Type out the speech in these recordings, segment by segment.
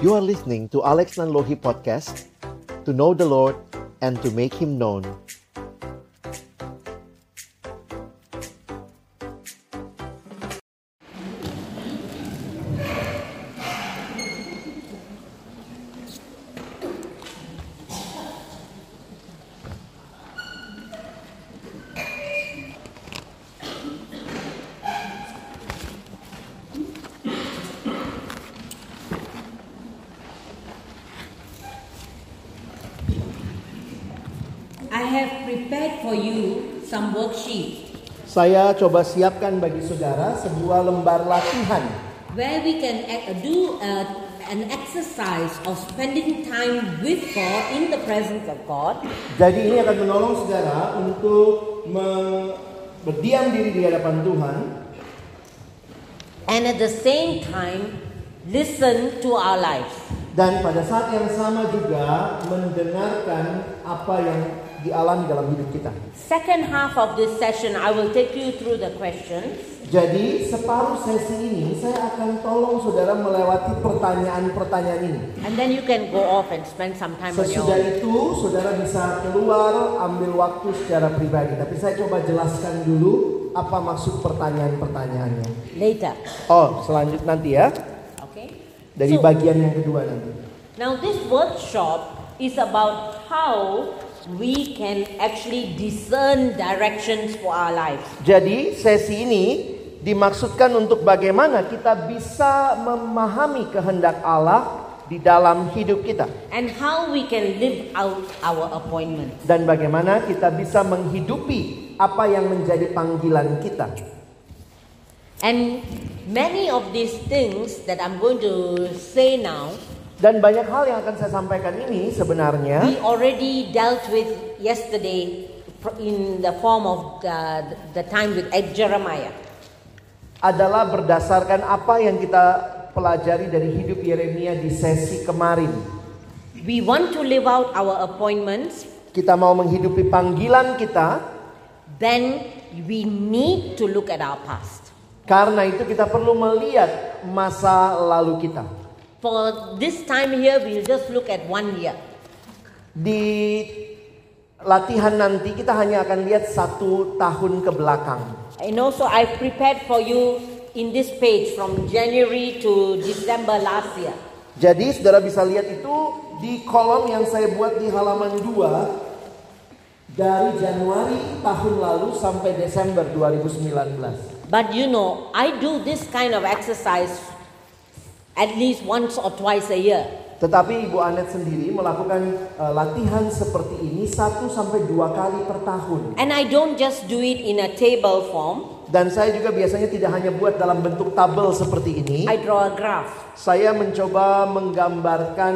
You are listening to Alex Nanlohi Podcast, to know the Lord and to make Him known. I have prepared for you some worksheet Saya coba siapkan bagi saudara sebuah lembar latihan where we can do an exercise of spending time with God in the presence of God. Jadi ini akan menolong saudara untuk berdiam diri di hadapan Tuhan, And at the same time, listen to our lives. dan pada saat yang sama juga mendengarkan apa yang dialami dalam hidup kita. Second half of this session, I will take you through the questions. Jadi separuh sesi ini saya akan tolong saudara melewati pertanyaan-pertanyaan ini. And then you can go off and spend some time on your Sesudah own. itu saudara bisa keluar ambil waktu secara pribadi. Tapi saya coba jelaskan dulu apa maksud pertanyaan-pertanyaannya. Later. Oh, selanjutnya nanti ya. Okay? Dari So, bagian yang kedua nanti. now this workshop is about how we can actually discern directions for our lives. Jadi sesi ini dimaksudkan untuk bagaimana kita bisa memahami kehendak Allah di dalam hidup kita. And how we can live out our appointment. Dan bagaimana kita bisa menghidupi apa yang menjadi panggilan kita. And many of these things that I'm going to say now, Dan banyak hal yang akan saya sampaikan ini sebenarnya we already dealt with yesterday in the form of the time with Jeremiah. adalah berdasarkan apa yang kita pelajari dari hidup Yeremia di sesi kemarin. We want to live out our appointments, Kita mau menghidupi panggilan kita, then we need to look at our past. karena itu kita perlu melihat masa lalu kita. For this time here, we'll just look at 1 year. Di latihan nanti kita hanya akan lihat 1 tahun ke belakang. And also I've prepared for you in this page from January to December last year. Jadi saudara bisa lihat itu di kolom yang saya buat di halaman 2 dari Januari tahun lalu sampai Desember 2019. But you know, I do this kind of exercise at least once or twice a year. Tetapi Ibu Anet sendiri melakukan latihan seperti ini 1 sampai 2 kali per tahun. And I don't just do it in a table form. Dan saya juga biasanya tidak hanya buat dalam bentuk tabel seperti ini. I draw a graph. Saya mencoba menggambarkan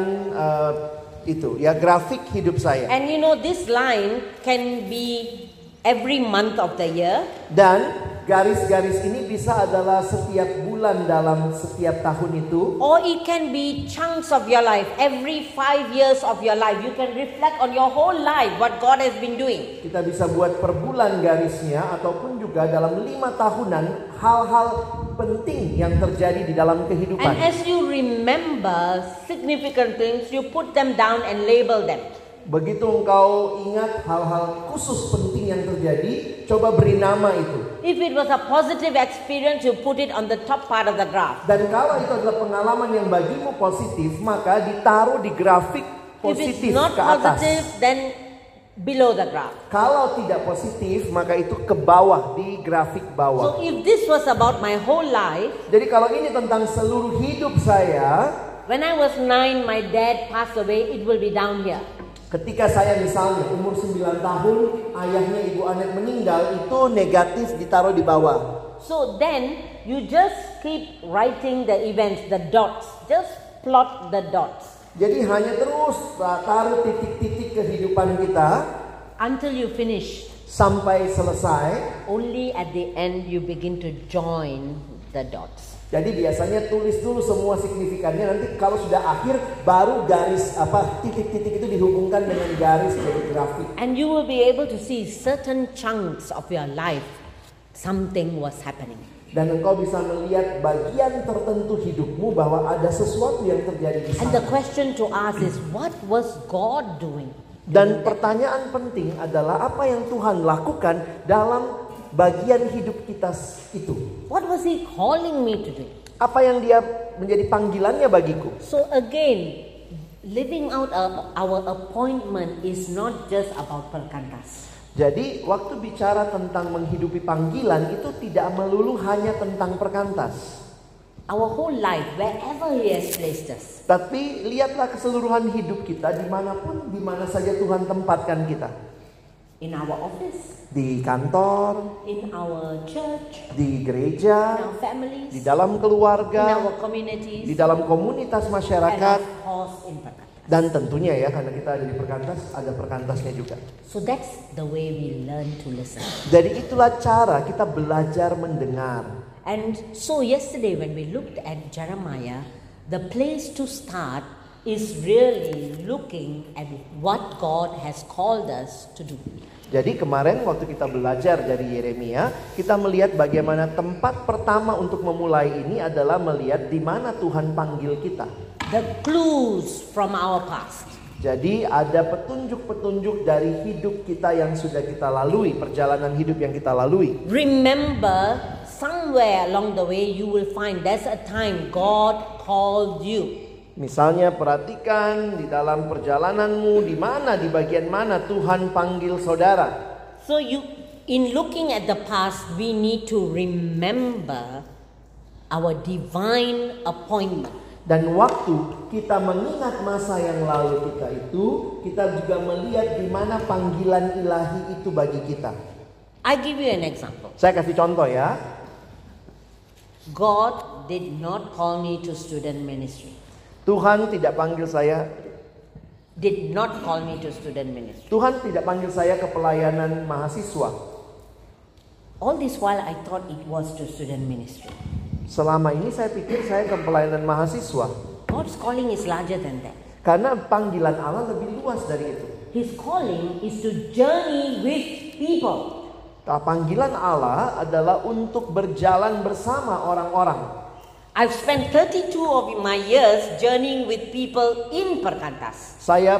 itu ya, grafik hidup saya. And you know, this line can be every month of the year. Dan garis-garis ini bisa adalah setiap bulan dalam setiap tahun itu. Or it can be chunks of your life. Every 5 years of your life, you can reflect on your whole life, what God has been doing. Kita bisa buat per bulan garisnya, ataupun juga dalam 5 tahunan hal-hal penting yang terjadi di dalam kehidupan. And as you remember significant things, you put them down and label them. Begitu engkau ingat hal-hal khusus penting yang terjadi, coba beri nama itu. If it was a positive experience, you put it on the top part of the graph. Dan kalau itu adalah pengalaman yang bagimu positif, maka ditaruh di grafik If it's positif not ke atas. positive, then below the graph. Kalau tidak positif, maka itu ke bawah, di grafik So bawah. if this was about my whole life, Jadi kalau ini tentang seluruh hidup saya, when I was 9, my dad passed away, it will be down here. ketika saya misalnya umur 9 tahun, ayahnya Ibu Anet meninggal, itu negatif ditaruh di bawah. So then you just keep writing the events, the dots. Just plot the dots Jadi hanya terus taruh titik-titik kehidupan kita until you finish. sampai selesai. Only at the end you begin to join the dots. Jadi biasanya tulis dulu semua signifikannya, nanti kalau sudah akhir baru garis titik-titik itu dihubungkan dengan garis dari grafik. And you will be able to see certain chunks of your life something was happening. Dan engkau bisa melihat bagian tertentu hidupmu bahwa ada sesuatu yang terjadi di And the sana. question to ask is, what was God doing? Dan pertanyaan penting adalah apa yang Tuhan lakukan dalam bagian hidup kita itu. What was He calling me to do? Apa yang dia menjadi panggilannya bagiku. So again, living out our appointment is not just about perkantas. Jadi waktu bicara tentang menghidupi panggilan itu tidak melulu hanya tentang perkantas. Our whole life, wherever He has placed us. Tapi lihatlah keseluruhan hidup kita dimanapun, dimana saja Tuhan tempatkan kita. In our office, Di kantor, in our church, di in gereja, our families, di dalam in keluarga, our communities, di dalam komunitas and masyarakat. of course in perkantas. Dan tentunya ya, karena kita ada di perkantas, ada perkantasnya juga. So that's the way we learn to listen. Jadi itulah cara kita belajar mendengar. And so yesterday when we looked at Jeremiah, the place to start is really looking at what God has called us to do. Jadi kemarin waktu kita belajar dari Yeremia, kita melihat bagaimana tempat pertama untuk memulai ini adalah melihat di mana Tuhan panggil kita. The clues from our past. Jadi ada petunjuk-petunjuk dari hidup kita yang sudah kita lalui, perjalanan hidup yang kita lalui. Remember, somewhere along the way you will find there's a time God called you. Misalnya perhatikan di dalam perjalananmu di mana, di bagian mana Tuhan panggil saudara. So in looking at the past, we need to remember our divine appointment. Dan waktu kita mengingat masa yang lalu kita itu, kita juga melihat di mana panggilan ilahi itu bagi kita. I give you an example. Saya kasih contoh ya. God did not call me to student ministry. Tuhan tidak panggil saya, Did not call me to student ministry. Tuhan tidak panggil saya ke pelayanan mahasiswa. All this while I thought it was to student ministry. Selama ini saya pikir saya ke pelayanan mahasiswa. God's calling is larger than that. Karena panggilan Allah lebih luas dari itu. His calling is to journey with people. Panggilan Allah adalah untuk berjalan bersama orang-orang. I've spent 32 of my years journeying with people in perkantas. Saya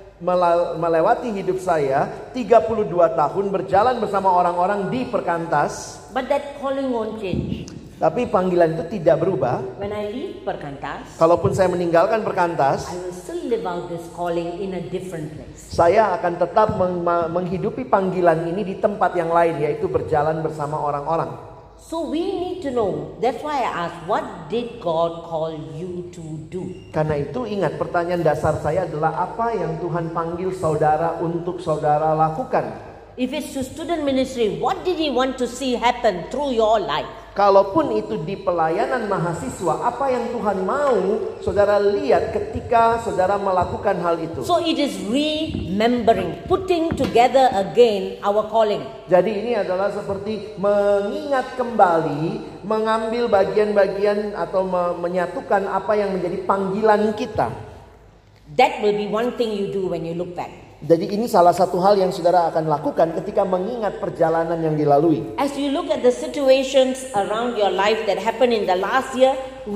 melewati hidup saya 32 tahun berjalan bersama orang-orang di perkantas. But that calling won't change. Tapi panggilan itu tidak berubah. When I leave perkantas, Kalaupun saya meninggalkan perkantas, I will still live out this calling in a different place. saya akan tetap menghidupi panggilan ini di tempat yang lain, yaitu berjalan bersama orang-orang. So we need to know. That's why I asked, what did God call you to do? Karena itu ingat, pertanyaan dasar saya adalah apa yang Tuhan panggil saudara untuk saudara lakukan. If it's to student ministry, what did He want to see happen through your life? Kalaupun itu di pelayanan mahasiswa, apa yang Tuhan mau saudara lihat ketika saudara melakukan hal itu. So it is remembering, putting together again our calling. Jadi ini adalah seperti mengingat kembali, mengambil bagian-bagian atau menyatukan apa yang menjadi panggilan kita. That will be one thing you do when you look back. Jadi ini salah satu hal yang saudara akan lakukan ketika mengingat perjalanan yang dilalui. As you look at the situations around your life that happened in the last year,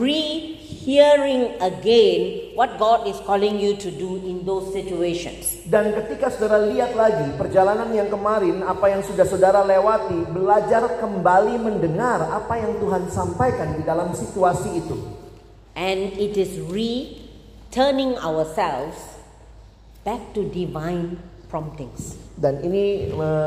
re-hearing again what God is calling you to do in those situations. Dan ketika saudara lihat lagi perjalanan yang kemarin, apa yang sudah saudara lewati, belajar kembali mendengar apa yang Tuhan sampaikan di dalam situasi itu. And it is returning ourselves back to divine promptings. Dan ini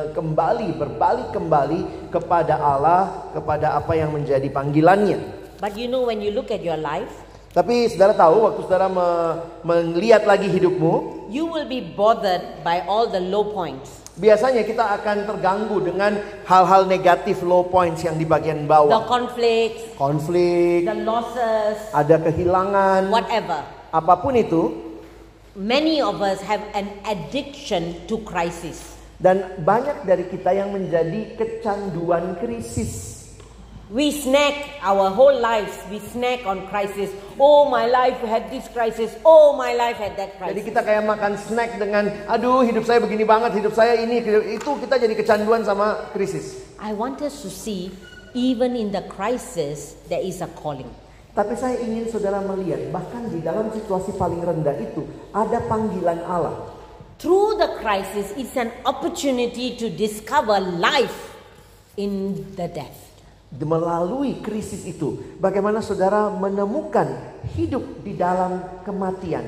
berbalik kembali kepada Allah, kepada apa yang menjadi panggilannya. But you know, when you look at your life, Tapi saudara tahu, waktu saudara melihat lagi hidupmu, you will be bothered by all the low points. biasanya kita akan terganggu dengan hal-hal negatif, low points yang di bagian The bawah. conflicts, Konflik, the losses, ada kehilangan, whatever. apapun itu. Many of us have an addiction to crisis. Dan banyak dari kita yang menjadi kecanduan krisis. We snack our whole lives. We snack on crisis. Oh, my life had this crisis. Oh, my life had that crisis. Jadi kita kayak makan snack dengan, aduh hidup saya begini banget, hidup saya ini, itu kita jadi kecanduan sama krisis. I want us to see, even in the crisis, there is a calling. Tapi saya ingin saudara melihat, bahkan di dalam situasi paling rendah itu, ada panggilan Allah. Through the crisis, it's an opportunity to discover life in the death. Melalui krisis itu, bagaimana saudara menemukan hidup di dalam kematian.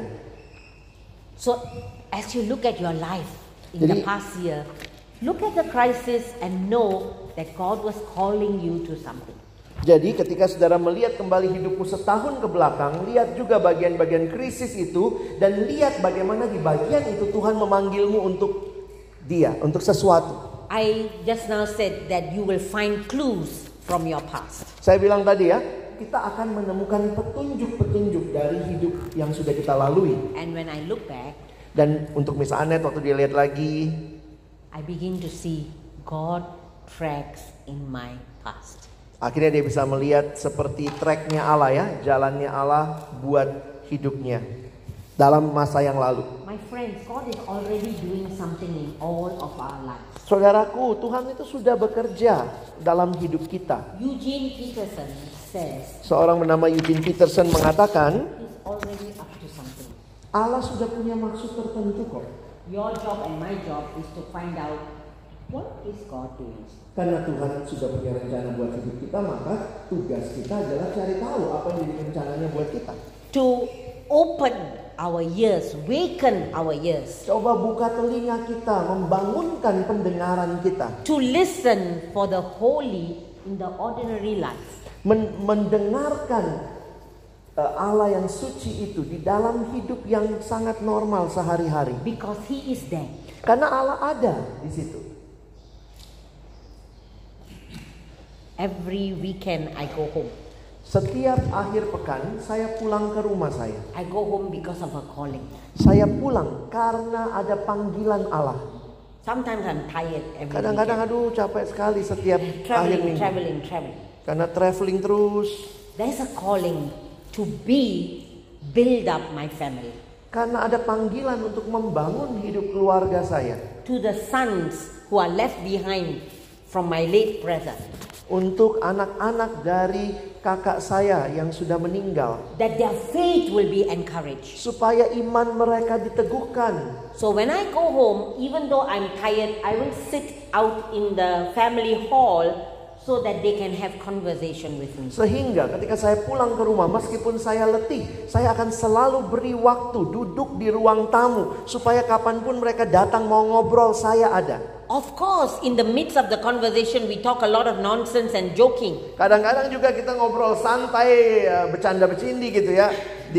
So, as you look at your life in the past year, look at the crisis and know that God was calling you to something. Jadi ketika saudara melihat kembali hidupmu setahun ke belakang, lihat juga bagian-bagian krisis itu, dan lihat bagaimana di bagian itu Tuhan memanggilmu untuk Dia, untuk sesuatu. I just now said that you will find clues from your past. Saya bilang tadi ya, kita akan menemukan petunjuk-petunjuk dari hidup yang sudah kita lalui. And when I look back, dan untuk Miss Annette waktu dia lihat lagi, I begin to see God tracks in my past. Akhirnya dia bisa melihat seperti tracknya Allah ya, jalannya Allah buat hidupnya dalam masa yang lalu. My friends, God is already doing something in all of our lives. Saudaraku, Tuhan itu sudah bekerja dalam hidup kita. Eugene Peterson says, seorang bernama Eugene Peterson mengatakan, He's already up to something. Allah sudah punya maksud tertentu kok. Your job and my job is to find out what is God doing. Karena Tuhan sudah punya rencana buat hidup kita, maka tugas kita adalah cari tahu apa yang rencananya buat kita. To open our ears, waken our ears. Coba buka telinga kita, membangunkan pendengaran kita. To listen for the holy in the ordinary life. Mendengarkan Allah yang suci itu di dalam hidup yang sangat normal sehari-hari. Because He is there. Karena Allah ada di situ. Every weekend I go home. Setiap akhir pekan saya pulang ke rumah saya. I go home because of a calling. Saya pulang karena ada panggilan Allah. Sometimes I'm tired every Kadang-kadang aduh capek sekali setiap akhir minggu. Traveling. Karena traveling terus. There's a calling to build up my family. Karena ada panggilan untuk membangun hidup keluarga saya. To the sons who are left behind from my late brother. Untuk anak-anak dari kakak saya yang sudah meninggal. That their faith will be encouraged. Supaya iman mereka diteguhkan. So when I go home, even though I'm tired, I will sit out in the family hall so that they can have conversation with me. Sehingga ketika saya pulang ke rumah, meskipun saya letih, saya akan selalu beri waktu duduk di ruang tamu. Supaya kapanpun mereka datang mau ngobrol, saya ada. Of course, in the midst of the conversation, we talk a lot of nonsense and joking. Kadang-kadang juga kita ngobrol santai, bercanda-bercindi gitu ya,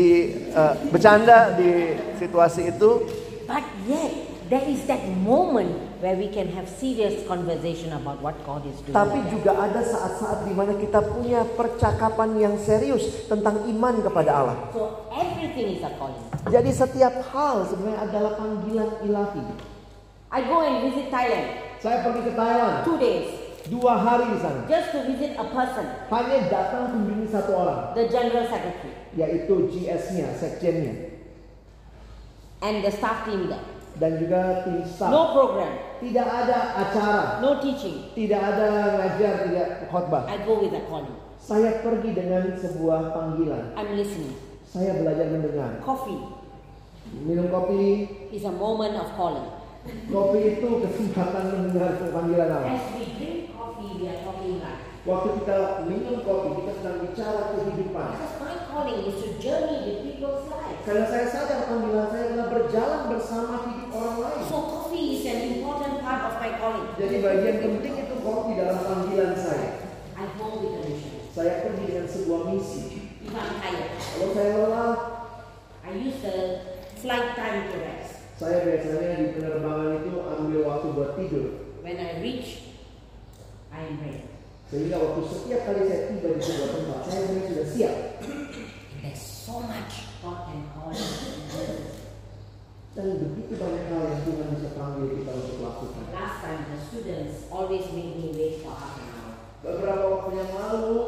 bercanda di situasi itu. But yet, there is that moment where we can have serious conversation about what God is doing. Tapi juga ada saat-saat di mana kita punya percakapan yang serius tentang iman kepada Allah. So everything is a calling. Jadi setiap hal sebenarnya adalah panggilan ilahi. I go and visit Thailand. Saya pergi ke Thailand 2 days. 2 hari di sana. Just to visit a person. Hanya datang kunjungi satu orang. The General Secretary. Yaitu GS-nya, sekjennya. And the staff team there. Dan juga tim staff. No program. Tidak ada acara. No teaching. Tidak ada ngajar, tidak khotbah. I go with a calling. Saya pergi dengan sebuah panggilan. I'm listening. Saya belajar mendengar. Coffee. Minum kopi is a moment of calling. Kopi itu kesempatan mendengar panggilan Allah. As we drink coffee, we are talking life. Waktu kita minum kopi, kita sedang bicara kehidupan. Because my calling is to journey with people's lives. Karena saya sadar panggilan saya adalah berjalan bersama hidup orang lain. So coffee is an important part of my calling. Jadi bagian penting itu kopi dalam panggilan saya. I go with a mission. Saya pergi dengan sebuah misi. If I'm tired, Kalau saya lelah, I use the flight time to rest. Saya biasanya di penerbangan itu ambil waktu buat tidur. When I reach, I am ready. Sehingga waktu setiap kali saya tiba di sebuah tempat, saya sudah siap. There's so much God can call us. Dan begitu banyak hal yang Tuhan bisa panggil kita untuk lakukan. Last time, the students always made me wait for half an hour. Beberapa waktu yang lalu,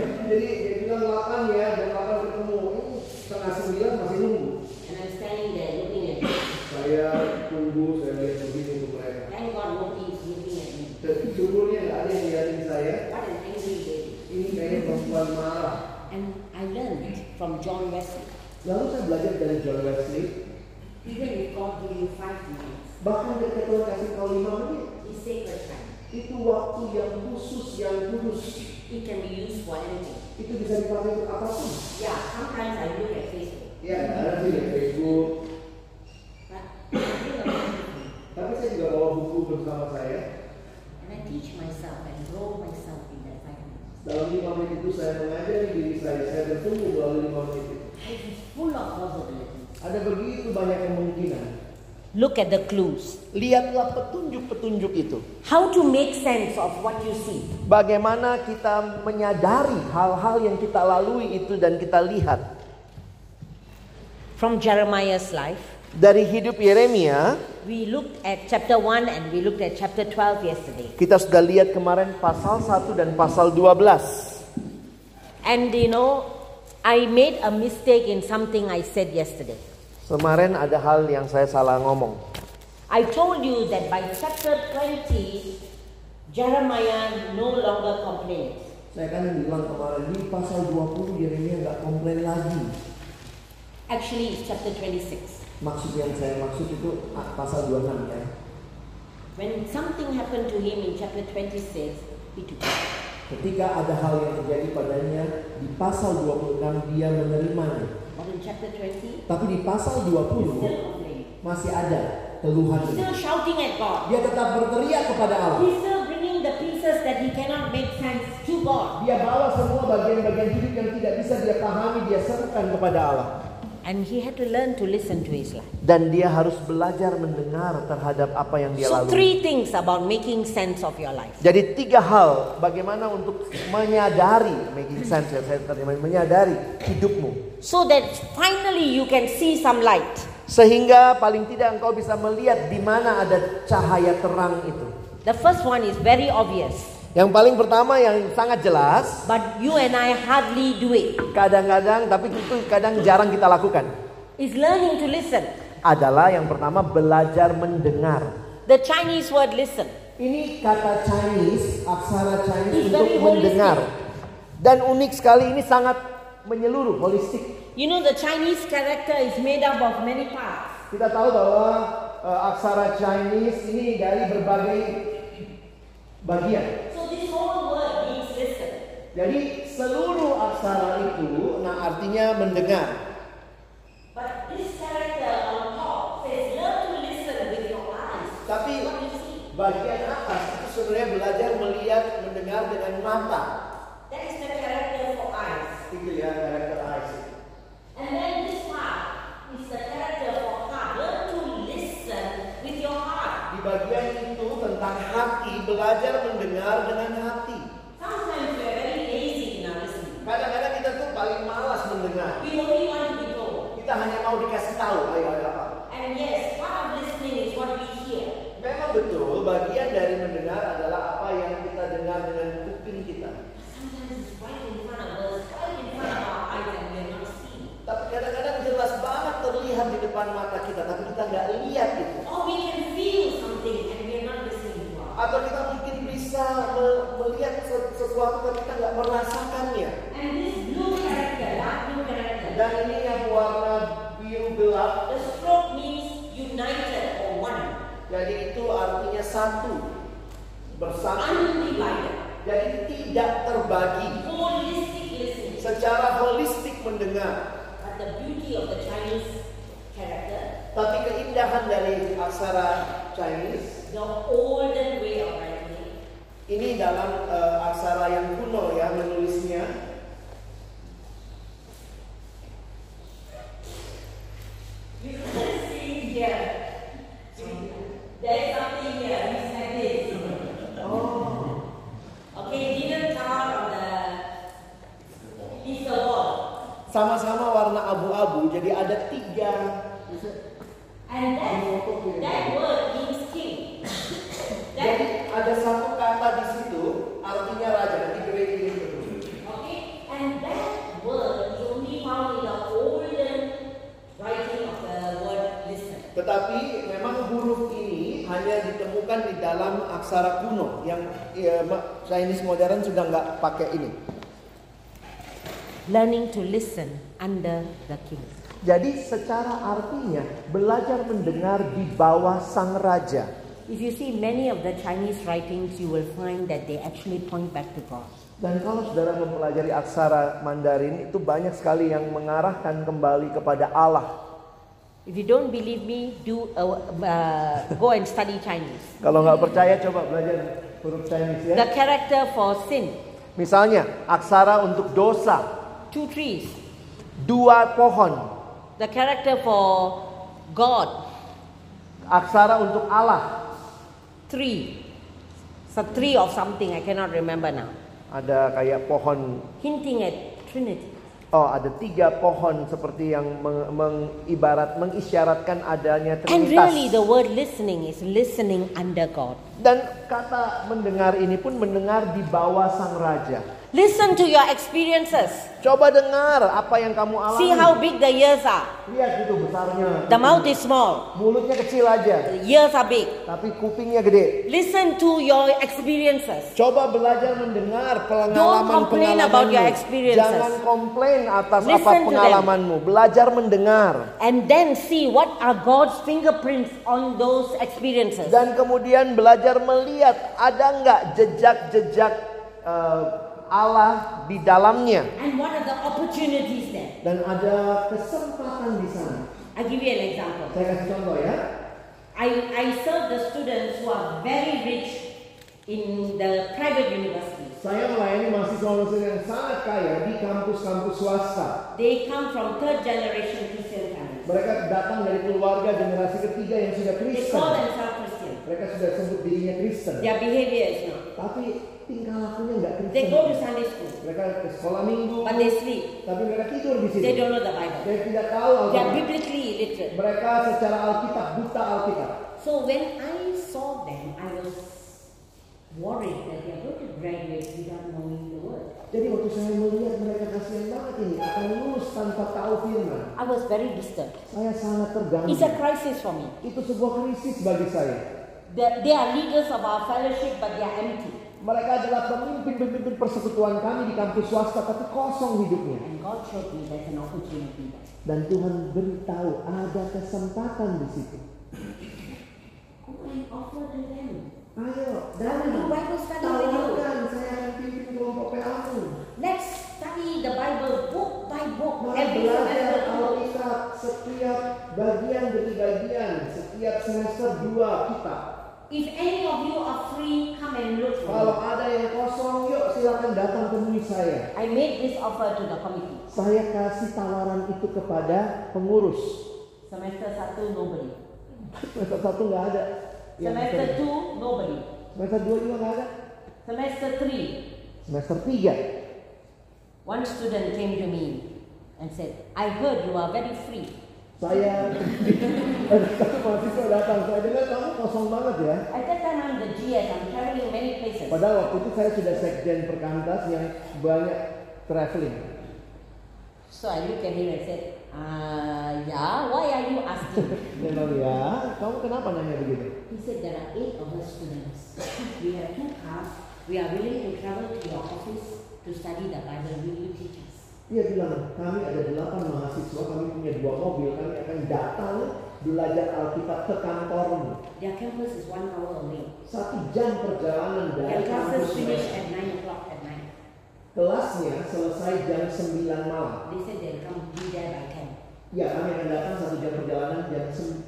Jadi dia bilang 8 ya, jam 8 ketemu. Setengah 9 masih nunggu. And I'm standing there looking at him. Saya tunggu, saya lihat begini untuk mereka. Thank God nobody is looking at me. Syukurnya nggak ada yang lihatin saya. What an angry lady. Ini kayaknya perempuan marah. And I learned from John Wesley. Lalu saya belajar dari John Wesley. Even if God give you 5 minutes, Bahkan ketika Tuhan kasih kau 5 menit, it's sacred time. itu waktu yang khusus, yang kudus. It can be used for anything. Itu bisa dipakai untuk apapun. Yeah, sometimes I look at Facebook. Ya, ada sih di Facebook. But I think about it. Tapi saya juga bawa buku bersama saya. And I teach myself and grow myself in that 5 minutes. Dalam 5 menit itu saya mengajari diri saya bertumbuh melalui 5 menit itu. Life is full of possibilities. Ada begitu banyak kemungkinan. Look at the clues. Lihatlah petunjuk-petunjuk itu. How to make sense of what you see. Bagaimana kita menyadari hal-hal yang kita lalui itu dan kita lihat. From Jeremiah's life, Dari hidup Yeremia, we looked at chapter 1 and we looked at chapter 12 yesterday. kita sudah lihat kemarin pasal 1 dan pasal 12. And you know, I made a mistake in something I said yesterday. Kemarin ada hal yang saya salah ngomong. I told you that by chapter 20, Jeremiah no longer complains. Saya kan bilang kemarin di pasal 20 Yeremia nggak komplain lagi. Actually, it's chapter 26. Maksud yang saya maksud itu pasal 26 ya. When something happened to him in chapter 26, he took it. Ketika ada hal yang terjadi padanya di pasal 26 dia menerimanya. But in chapter 20, Tapi di pasal he's 20 still complaining. masih ada keluhan. He's still shouting at God. Dia tetap berteriak kepada Allah. He's still bringing the pieces that he cannot make sense to God. Dia bawa semua bagian-bagian hidup yang tidak bisa dia pahami, dia serukan kepada Allah. And he had to learn to listen to his life. Dan dia harus belajar mendengar terhadap apa yang dia So lalui. 3 things about making sense of your life. Jadi 3 hal bagaimana untuk menyadari, making sense ya saya terima, menyadari hidupmu. So that finally you can see some light. Sehingga paling tidak engkau bisa melihat di mana ada cahaya terang itu. The first one is very obvious, Yang paling pertama yang sangat jelas, but you and I hardly do it, kadang-kadang tapi itu kadang jarang kita lakukan, is learning to listen. adalah yang pertama belajar mendengar. The Chinese word listen. Ini kata Chinese, aksara Chinese It's untuk very mendengar. Dan unik sekali, ini sangat menyeluruh, holistik. You know, the Chinese character is made up of many parts. Kita tahu bahwa aksara Chinese ini dari berbagai bagian. So this whole word means listen. Jadi seluruh aksara itu, artinya mendengar. But this character on top says learn to listen with your eyes. Tapi What you see. bagian atas itu sebenarnya belajar melihat, mendengar dengan mata. That is the character for eyes. Itu ya karakter eyes. And then this part is the character for heart. Learn to listen with your heart. Di bagian itu tentang hati, belajar mendengar dengan hati. Sometimes we are very lazy in our listening. Kadang-kadang kita tuh paling malas mendengar. We only want to be told. Kita hanya mau dikasih tahu, ayo ada apa. And yes, part of listening is what we hear. Memang betul, bagian dari mendengar adalah apa yang kita dengar dengan kuping kita. Sometimes it's right in front of us, right in front of our eyes, and we are not seeing. Tapi kadang-kadang jelas banget terlihat di depan mata kita, tapi kita nggak lihat itu. Or we can feel something and we are not listening to our. Atau kita mungkin bisa melihat sesuatu tapi kita nggak merasakannya. And this blue character, dark blue character, Dan ini yang warna biru gelap, the stroke means united or one, jadi itu artinya satu, bersatu. undivided, Jadi tidak terbagi, holistic listening. secara holistik mendengar. But the beauty of the Chinese character, Tapi keindahan dari aksara Chinese the olden way of writing, ini dalam aksara yang kuno ya menulisnya. you can see here. There is something here. It's like this. Oh, Okay, it didn't come out on the physical wall. sama-sama warna abu-abu. Jadi ada 3. And that word means king. Jadi That, ada satu kata di situ artinya raja. Nanti great ini. okay, hanya ditemukan di dalam aksara kuno. Yang Chinese modern sudah nggak pakai ini. Learning to listen under the king. Jadi secara artinya belajar mendengar di bawah sang raja. If you see many of the Chinese writings, you will find that they actually point back to God. Dan kalau saudara mempelajari aksara Mandarin, itu banyak sekali yang mengarahkan kembali kepada Allah. If you don't believe me, go and study Chinese. Kalau nggak percaya, coba belajar huruf Chinese ya. The character for sin, Misalnya, aksara untuk dosa, 2 trees. 2 pohon. The character for God, Aksara untuk Allah, 3. It's a tree of something, I cannot remember now. ada kayak pohon. Hinting at Trinity. Oh, ada 3 pohon seperti yang mengisyaratkan adanya And Trinitas. really the word listening is listening under God. Dan kata mendengar ini pun mendengar di bawah sang raja. Listen to your experiences. Coba dengar apa yang kamu alami. See how big the ears are. Lihat itu besarnya. The mouth is small. Mulutnya kecil aja, The ears are big. tapi kupingnya gede. Listen to your experiences. Coba belajar mendengar Don't complain about your pengalaman-pengalamanmu. experiences. Jangan komplain atas Listen apa to them. pengalamanmu. Belajar mendengar. And then see what are God's fingerprints on those experiences. Dan kemudian belajar melihat ada nggak jejak-jejak Allah di dalamnya. And what are the opportunities there? Dan ada kesempatan di sana. I'll give you an example. Saya kasih contoh ya. I serve the students who are very rich in the private universities. Saya melayani mahasiswa-mahasiswa yang sangat kaya di kampus-kampus swasta. They come from 3rd generation Christian families. Mereka datang dari keluarga generasi ketiga yang sudah They Kristen. call themselves Christian. Mereka sudah sebut dirinya Kristen. Their behavior is not. Tapi tingkah lakunya nggak Kristen. They go to Sunday school, Mereka ke sekolah minggu. but they sleep. Tapi mereka tidur di situ. They don't know the Bible. Mereka tidak tahu They are Alkitab. biblically illiterate. Mereka secara Alkitab buta Alkitab. So when I saw them, I was worried that they are going to graduate without knowing the word. Jadi waktu saya melihat mereka kasihan banget ini akan lulus tanpa tahu firman, I was very disturbed. saya sangat terganggu. It's a crisis for me. Itu sebuah krisis bagi saya. They are leaders of our fellowship, but they are empty. Mereka adalah pemimpin-pemimpin persekutuan kami di kampus swasta, tapi kosong hidupnya. And God showed me there's an opportunity there. Dan Tuhan beritahu ada kesempatan di situ. Go and offer to them. Ayo, I will do Bible study with you. tawarkan, saya akan pimpin kelompok PA-mu. Let's study the Bible book by book. Mari Every belajar semester. Alkitab setiap bagian demi bagian, setiap semester 2 kitab. If any of you are free, come and look for Kalau me. ada yang kosong, yuk silakan datang temui saya. I made this offer to the committee. Saya kasih tawaran itu kepada pengurus. Semester 1, nobody. Semester 1 nggak ada. Semester 2, nobody. Semester 2 juga nggak ada. Semester 3, Semester 3. one student came to me and said, I heard you are very free. Saya satu mahasiswa datang, saya dengar kamu kosong banget ya. At that time I'm the GS, I'm traveling many places. Padahal waktu itu saya sudah sekjen perkantas yang banyak traveling. So I looked at him and said, yeah, why are you asking? Dia bilang, ya, kamu kenapa nanya begitu? He said, there are 8 of us students. We have 2 cars. We are willing to travel to your office to study the Bible. Will you teach us? Dia bilang, kami ada 8 mahasiswa, kami punya 2 mobil, kami akan datang belajar Alkitab ke kantormu. Their campus is 1 hour away. 1 jam perjalanan Their dari classes kampus finish mereka. at 9 o'clock at night. Kelasnya selesai jam 9 malam. They said they'll come be there by 10. Ya, kami akan datang 1 jam perjalanan jam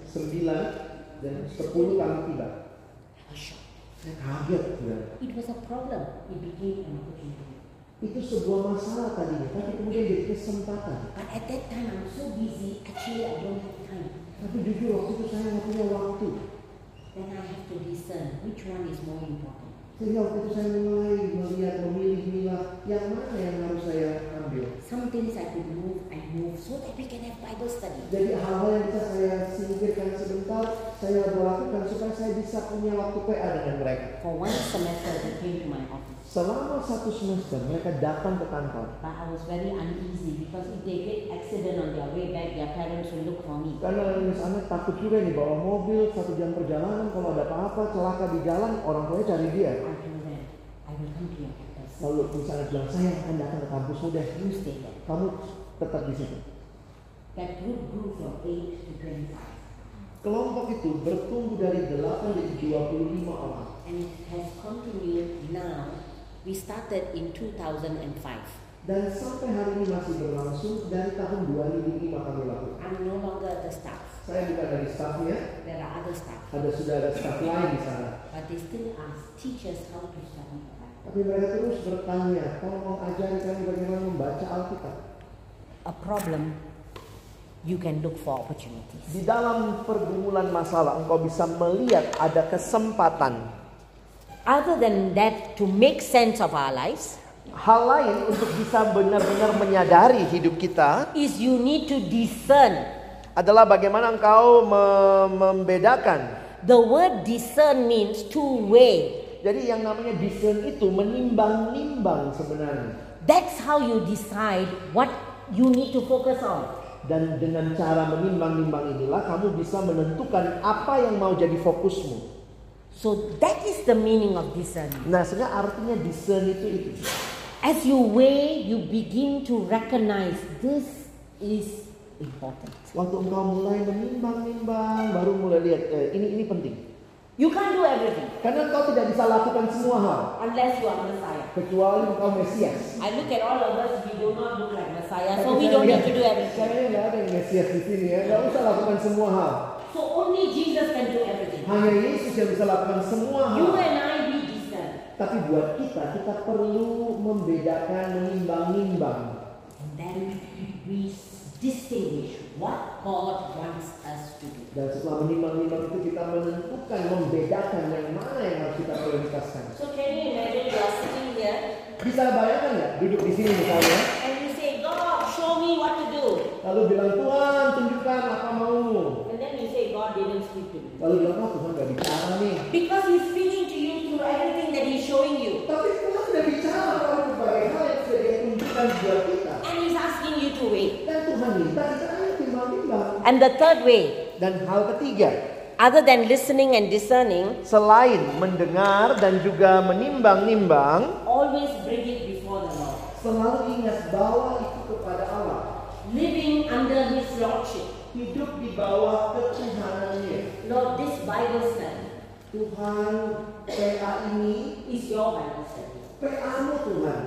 9 dan 10 kami tiba. I was shocked. Saya kaget. Ya. It was a problem. It became an opportunity. Itu sebuah masalah tadinya, tapi kemudian jadi kesempatan. But at that time I'm so busy, actually I don't have time. Tapi jujur waktu itu saya nggak punya waktu. Then I have to discern which one is more important. Sehingga waktu itu saya mulai memilih yang mana yang harus saya ambil. Some things I could move, I move so that we can have Bible study. Jadi hal-hal yang bisa saya singkirkan sebentar, saya lakukan supaya saya bisa punya waktu PA dengan mereka. For one semester, they came to my office. Selama 1 semester mereka datang ke kantor. But I was very uneasy because if they get accident on their way back, their parents will look for me. Karena misalnya takut juga nih bawa mobil 1 jam perjalanan, kalau ada apa-apa celaka di jalan, orang tuanya cari dia. I told them, I will come to your campus. Lalu misalnya bilang, saya akan datang ke kampusmu deh. You stay there. Kamu tetap di situ. That group grew from 8 to 25. Kelompok itu bertumbuh dari 8 jadi 25 orang. And it has continued now. We started in 2005. Dan sampai hari ini masih berlangsung dari tahun 2005 kami lakukan. I'm no longer the staff. Saya bukan dari staffnya. There are other staff. Sudah ada staff lain di sana. But they still ask teachers how to study the Bible. Tapi mereka terus bertanya, tolong ajari kami bagaimana membaca Alkitab. A problem, you can look for opportunities. Di dalam pergumulan masalah, engkau bisa melihat ada kesempatan. Other than that, to make sense of our lives, Hal lain untuk bisa benar-benar menyadari hidup kita is you need to discern. adalah bagaimana engkau membedakan. The word discern means to weigh. Jadi yang namanya discern itu menimbang-nimbang sebenarnya. That's how you decide what you need to focus on. Dan dengan cara menimbang-nimbang inilah kamu bisa menentukan apa yang mau jadi fokusmu. So that is the meaning of discern. Nah, sebenarnya artinya discern itu. As you weigh, you begin to recognize this is important. Waktu engkau mulai menimbang-nimbang, baru mulai lihat ini penting. You can't do everything Karena engkau tidak bisa lakukan semua hal unless you are Messiah. kecuali engkau Mesias. I look at all of us, we do not look like Messiah, so we don't need to do everything. Kayaknya nggak ada yang Mesias di sini ya, nggak usah lakukan semua hal. So only Jesus can do everything. Hanya Yesus yang bisa lakukan semua hal. You and I, we discern. Tapi buat kita perlu membedakan, menimbang-nimbang. And then we distinguish what God wants us to do. Dan setelah menimbang-nimbang itu kita menentukan, membedakan yang mana yang harus kita prioritaskan. So can you imagine you are sitting here Bisa bayangkan nggak duduk di sini misalnya, and you say, God, show me what to do. lalu bilang Tuhan tunjukkan apa maumu. And then you say, God didn't speak to me. Lalu bilang Tuhan nggak bicara nih. Because He's speaking to you through everything that He's showing you. Tapi Tuhan sudah bicara kalau berbagai hal yang sudah Dia tunjukkan buat kita. And He's asking you to wait. Dan Tuhan minta kita ayo timbang-timbang. And the third way, Dan hal ketiga, other than listening and discerning, selain mendengar dan juga menimbang-nimbang, always bring it before the Lord. selalu ingat bawa itu kepada Allah. Living under His Lordship. Hidup di bawah ketuhanannya. Lord, this Bible study Tuhan, PA ini is your Bible study. PA-mu Tuhan.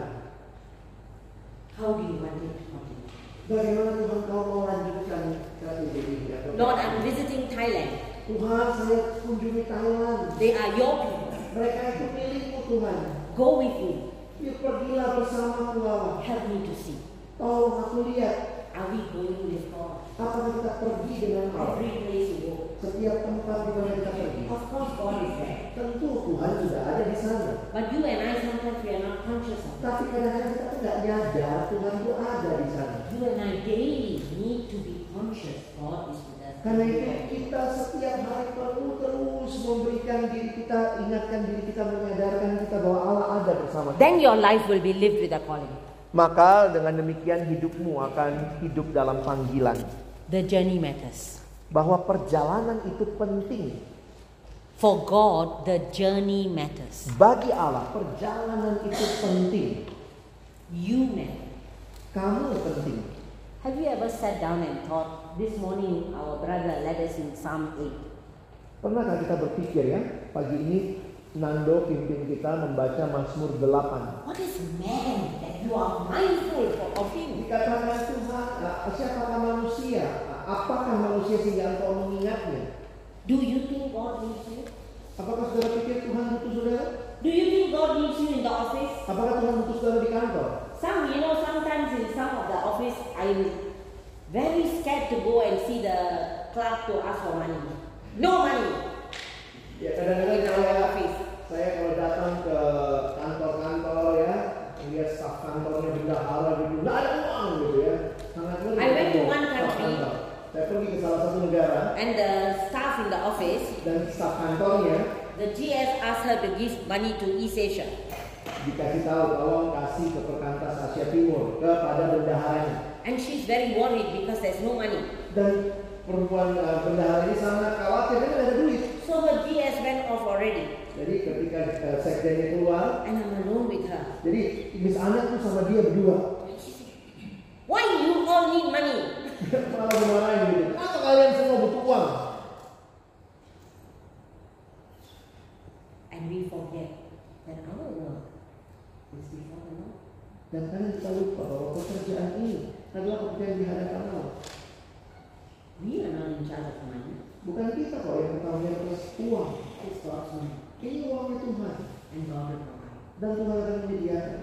How do you want it to continue? Bagaimana Tuhan kau mau lanjutkan strategi ini? Lord, I'm visiting Thailand. Tuhan, saya kunjungi Thailand. They are your people. Mereka itu milikmu Tuhan. Go with me. Yuk pergilah bersamaku Allah. Help me to see. Tolong aku lihat. Are we going with God? Apakah kita pergi dengan Allah? Every place you go. Setiap tempat di mana kita pergi. Of course, God is there. Tentu Tuhan sudah ada di sana. But you and I sometimes we are not conscious of it. Tapi kadang-kadang kita tuh nggak nyadar Tuhan itu ada di sana. You and I daily need to be conscious God is with us. Karena itu kita setiap hari perlu terus memberikan diri kita, ingatkan diri kita, menyadarkan kita bahwa Allah ada bersama kita. Then your life will be lived with a calling. Maka dengan demikian hidupmu akan hidup dalam panggilan. The journey matters. Bahwa perjalanan itu penting. For God, the journey matters. Bagi Allah, perjalanan itu penting. You matter. Kamu penting. Have you ever sat down and thought, this morning our brother led us in Psalm 8. Pernahkah kita berpikir ya, pagi ini Nando pimpin kita membaca Mazmur 8. What is man that you are mindful of him? Dikatakan Tuhan, siapakah manusia? Apakah manusia sehingga engkau mengingatnya? Do you think God needs you? Apakah saudara pikir Tuhan butuh saudara? Do you think God needs you in the office? Apakah Tuhan butuh saudara di kantor? Sometimes in some of the office, I'm very scared to go and see the clerk to ask for money. No money. Ya kadang-kadang saya kalau datang ke kantor-kantor ya, lihat staf kantornya bendahara gitu, nggak ada uang gitu ya. Sangat I went to one country. Saya pergi ke salah satu negara. And the staff in the office, dan staf kantornya the GS asked her to give money to East Asia. dikasih tahu tolong kasih ke Perkantas Asia Timur kepada bendaharanya. And she's very worried because there's no money. Dan perempuan bendahara ini sangat khawatir karena tidak ada duit. So her GS went off already. Jadi ketika sekjennya keluar, And I'm alone with her. jadi Miss Ana tuh sama dia berdua. Why you all need money? Malah dimarahin gitu. Kenapa kalian semua butuh uang? And we forget that our work is before the Lord. Dan kalian kita lupa bahwa pekerjaan ini adalah pekerjaan di hadapan Allah. We are not in charge of money. Bukan kita kok yang bertanggung jawab atas uang. It's God's money. Ini uangnya Tuhan. And God will provide. Dan Tuhan akan menyediakan.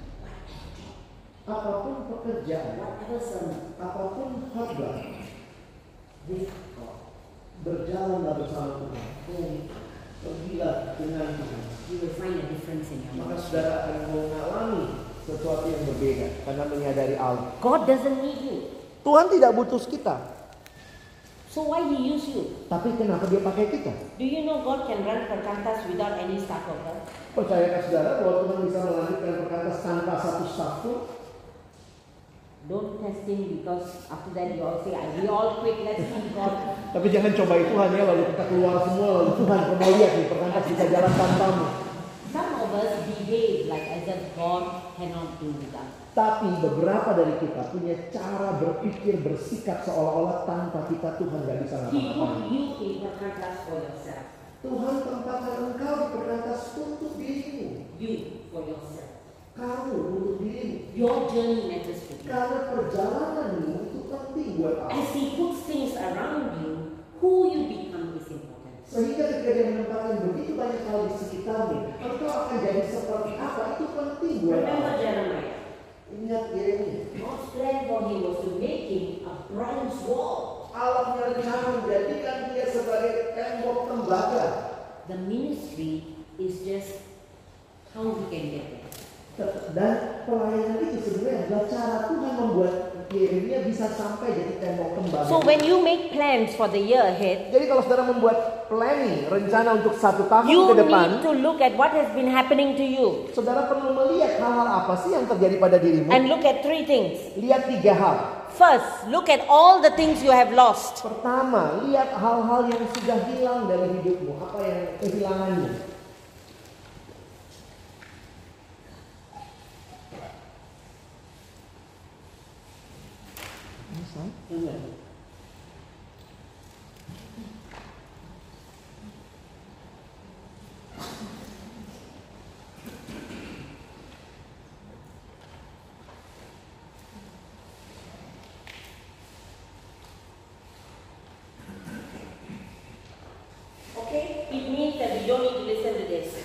Apapun pekerjaan, Whatever sermon, apapun khotbah, with God. berjalanlah bersama Tuhan. Pergilah dengan Tuhan. You will find a difference in your Maka life. saudara akan mengalami sesuatu yang berbeda karena menyadari Allah. God doesn't need you. Tuhan tidak butuh kita, So why He use you? tapi kenapa Dia pakai kita? Do you know God can run Perkantas without any staff worker? Percayakah saudara bahwa Tuhan bisa melanjutkan Perkantas tanpa satu staf pun? Don't test Him because after that you all say, we all quit, let's leave God. Tapi jangan cobai Tuhan ya, lalu kita keluar semua, lalu Tuhan mau lihat nih Perkantas bisa jalan tanpamu. Some of us behave like as if God cannot do with us. Tapi beberapa dari kita punya cara berpikir, bersikap seolah-olah tanpa kita Tuhan gak bisa He ngapa-ngapain. put you in Perkantas for yourself. Tuhan tempatkan engkau di Perkantas untuk dirimu. You for yourself. Kamu untuk dirimu. Your journey matters to you. Karena perjalananmu itu penting buat Allah. As He puts things around you, who you become is important. Sehingga ketika Dia menempatkan begitu banyak hal di sekitarmu, engkau akan jadi seperti apa, itu penting buat Remember Allah. Jeremiah. Ingat Yeremia. God's plan for him was to make him a bronze wall. Allah punya rencana menjadikan dia sebagai tembok tembaga. The ministry is just how he can get there. Dan pelayanan itu sebenarnya adalah cara Tuhan membuat Yeremia bisa sampai jadi tembok tembaga. So when you make plans for the year ahead, Jadi kalau saudara membuat planning, rencana untuk 1 tahun you ke depan, need to look at what has been happening to you saudara perlu melihat hal-hal apa sih yang terjadi pada dirimu. and look at 3 things. Lihat 3 hal. First, look at all the things you have lost. Pertama, lihat hal-hal yang sudah hilang dari hidupmu, apa yang kehilanganmu. Okay, it means that we don't need to listen to this.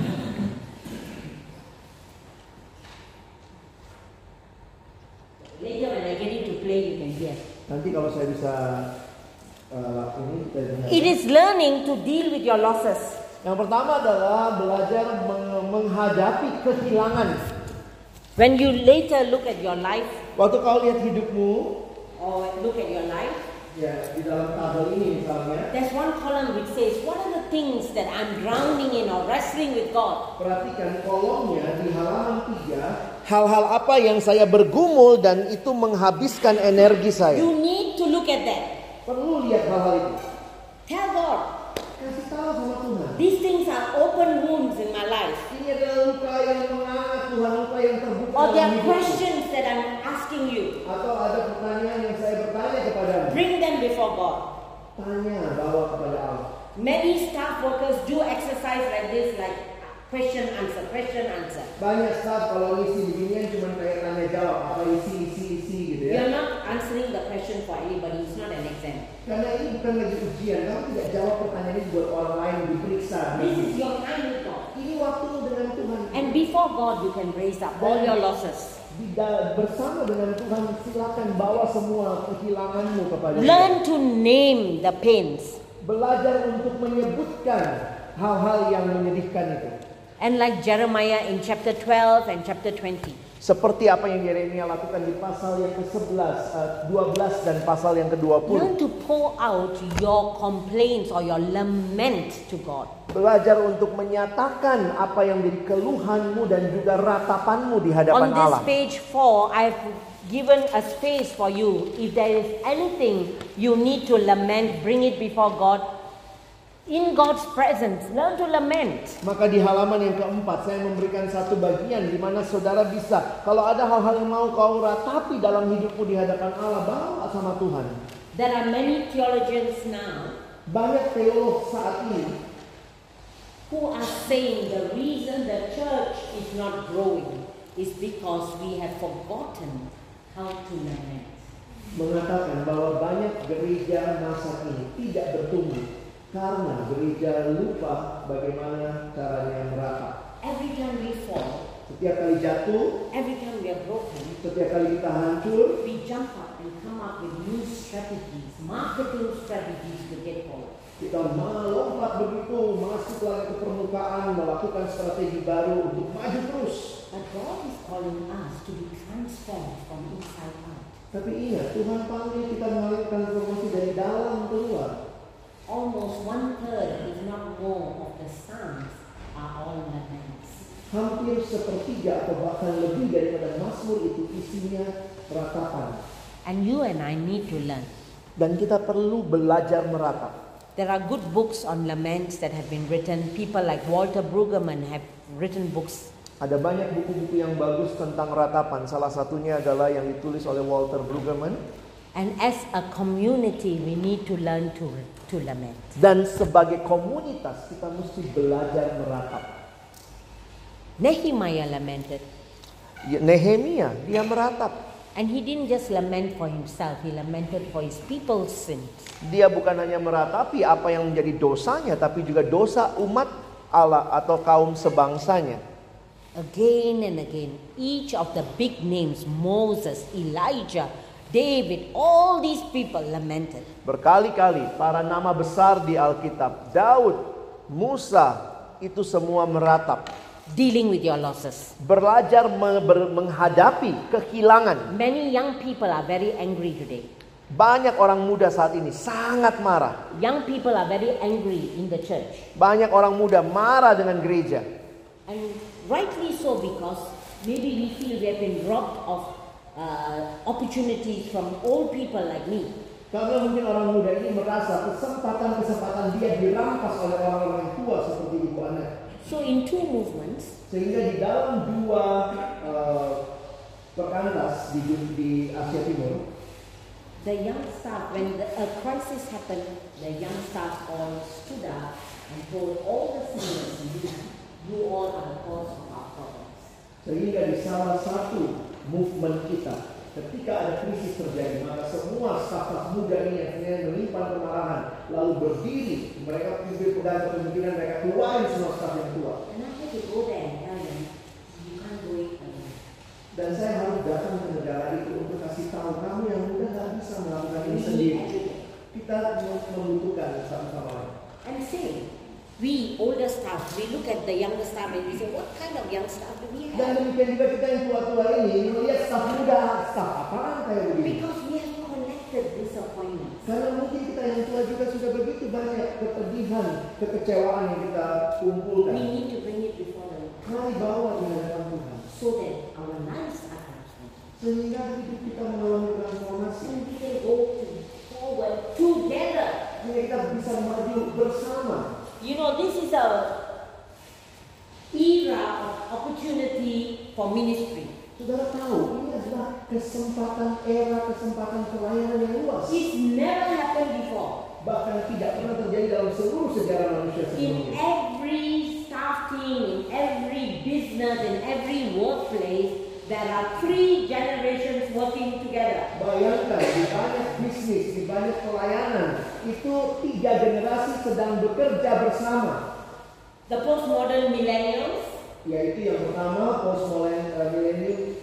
Later when I get it to play, you can hear. Nanti kalau saya bisa lakuin kita dengar. It is learning to deal with your losses. Yang pertama adalah belajar menghadapi kehilangan. When you later look at your life Waktu kau lihat hidupmu, or look at your life, ya di dalam tabel ini misalnya, there's one column which says, what are the things that I'm drowning in or wrestling with God? perhatikan kolomnya di halaman 3. Hal-hal apa yang saya bergumul dan itu menghabiskan energi saya. You need to look at that. Perlu lihat hal-hal itu. Tell God, Kasih tahu sama Tuhan. these things are open wounds in my life. Ini adalah luka yang menganga Tuhan, luka yang terbuka Or there dalam are hidupku. questions that I'm asking you. Atau ada pertanyaan yang saya bertanya kepadamu. Bring them before God. Tanya, bawa kepada Allah. Many staff workers do exercise like this, like question, answer, question, answer. Banyak staff kalau ngisi beginian cuma kayak tanya jawab, apa isi gitu ya. You're not answering the question for anybody, it's not an exam. Karena ini bukan lagi ujian, kamu tidak jawab pertanyaan ini buat orang lain diperiksa. This is your time with God. Ini waktumu dengan Tuhan. And before God, you can raise up all your losses. Bersama dengan Tuhan silakan bawa semua kehilanganmu kepada Learn Dia. to name the pains. Belajar untuk menyebutkan hal-hal yang menyedihkan itu. And like Jeremiah in chapter 12 and chapter 20. Seperti apa yang Yeremia lakukan di pasal yang ke-11, 12 dan pasal yang ke-20. Learn to pour out your complaints or your lament to God. Belajar untuk menyatakan apa yang menjadi keluhanmu dan juga ratapanmu di hadapan On this Allah. page 4, I've given a space for you. If there is anything you need to lament, bring it before God. In God's presence, learn to lament. Maka di halaman yang keempat saya memberikan satu bagian di mana saudara bisa, kalau ada hal-hal yang mau kau ratapi dalam hidupmu di hadapan Allah, bawa sama Tuhan. There are many theologians now Banyak teolog saat ini who are saying the reason the church is not growing is because we have forgotten how to lament. mengatakan bahwa banyak gereja masa ini tidak bertumbuh karena gereja lupa bagaimana caranya meratap. Every time we fall, Setiap kali jatuh, every time we are broken, setiap kali kita hancur, we jump up and come up with new strategies, marketing strategies to get forward. kita melompat begitu, masuk lagi ke permukaan, melakukan strategi baru untuk maju terus. But God is calling us to be transformed from inside out. Tapi ingat, Tuhan panggil kita mengalami transformasi dari dalam keluar. Almost 1/3, if not more, of the Psalms are all laments. Hampir sepertiga atau bahkan lebih daripada Mazmur itu isinya ratapan. And you and I need to learn. Dan kita perlu belajar meratap. There are good books on laments that have been written. People like Walter Brueggemann have written books. Ada banyak buku-buku yang bagus tentang ratapan. Salah satunya adalah yang ditulis oleh Walter Brueggemann. And as a community, we need to learn to lament. Dan sebagai komunitas kita mesti belajar meratap. Nehemiah lamented. Nehemia, dia meratap. And he didn't just lament for himself, he lamented for his people's sins. Dia bukan hanya meratapi apa yang menjadi dosanya, tapi juga dosa umat Allah atau kaum sebangsanya. Again and again, each of the big names, Moses, Elijah, David, all these people lamented. Berkali-kali para nama besar di Alkitab, Daud, Musa, itu semua meratap. Dealing with your losses. Belajar menghadapi kehilangan. Many young people are very angry today. Banyak orang muda saat ini sangat marah. Young people are very angry in the church. Banyak orang muda marah dengan gereja. And rightly so, because maybe we feel we have been robbed of opportunities from old people like me. Karena mungkin orang muda ini merasa kesempatan-kesempatan dia dirampas oleh orang-orang yang tua seperti ibu anak. So in two movements, Sehingga di dalam dua perkantas di Asia Timur, the young staff, when a crisis happened, the young staff all stood up and told all the seniors, you all are the cause of our problems. sehingga di salah satu movement kita, ketika ada krisis terjadi, maka semua staf-staf muda ini akhirnya menyimpan kemarahan, lalu berdiri, mereka pimpin pedang kepemimpinan, mereka keluarin semua staf yang tua. And I had to go there and tell them, you can't do it alone. Dan saya harus datang ke negara itu untuk kasih tahu kamu yang muda nggak bisa melakukan ini We sendiri. need everything. Kita membutuhkan satu sama lain. And same. We older staff, we look at the younger staff and we say, what kind of young staff do we Dan have? demikian juga kita yang tua-tua ini melihat staf muda, staf apaan kayak begini. Because we have collected disappointments. Karena mungkin kita yang tua juga sudah begitu banyak kepedihan, kekecewaan yang kita We kumpulkan. need to bring it before the Lord Mari bawa di hadapan Tuhan. so that our lives are transformed. Sehingga hidup kita mengalami transformasi. And we can go forward together. Sehingga kita bisa maju bersama. You know, this is a era of opportunity for ministry. Saudara tahu, ini adalah kesempatan pelayanan yang luas. It's never happened before. Bahkan tidak pernah terjadi dalam seluruh sejarah manusia In sebelumnya. every staff team, in every business, in every workplace, there are 3 generations working together. Bayangkan, di banyak bisnis, di banyak pelayanan, itu 3 generasi sedang bekerja bersama. The postmodern millennials, Yaitu yang pertama postmodern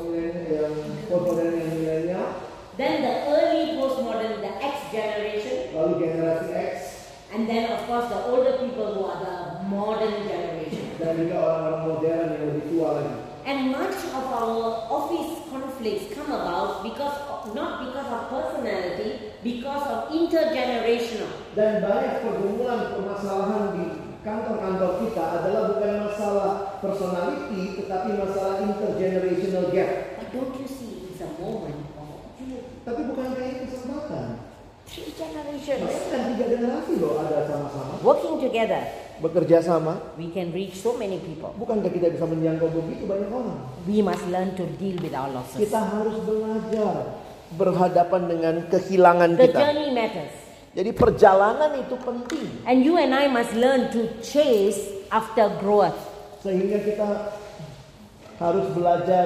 yang milenial, then the early postmodern, the X generation, lalu generasi X, and then of course the older people who are the modern generation. dan juga orang-orang modern yang lebih tua lagi. And much of our office conflicts come about not because of personality, because of intergenerational. Dan banyak pergumulan permasalahan di kantor-kantor kita adalah bukan masalah personality, tetapi masalah intergenerational gap. But don't you see it's a moment of opportunity? Tapi bukan kayak kesempatan. 3 generations Bayangkan 3 generasi loh ada sama-sama, working together. bekerja sama. We can reach so many people. Bukankah kita bisa menjangkau begitu banyak orang? We must learn to deal with our losses. Kita harus belajar berhadapan dengan kehilangan The kita. journey matters. Jadi perjalanan itu penting. And you and I must learn to chase after growth. Sehingga kita harus belajar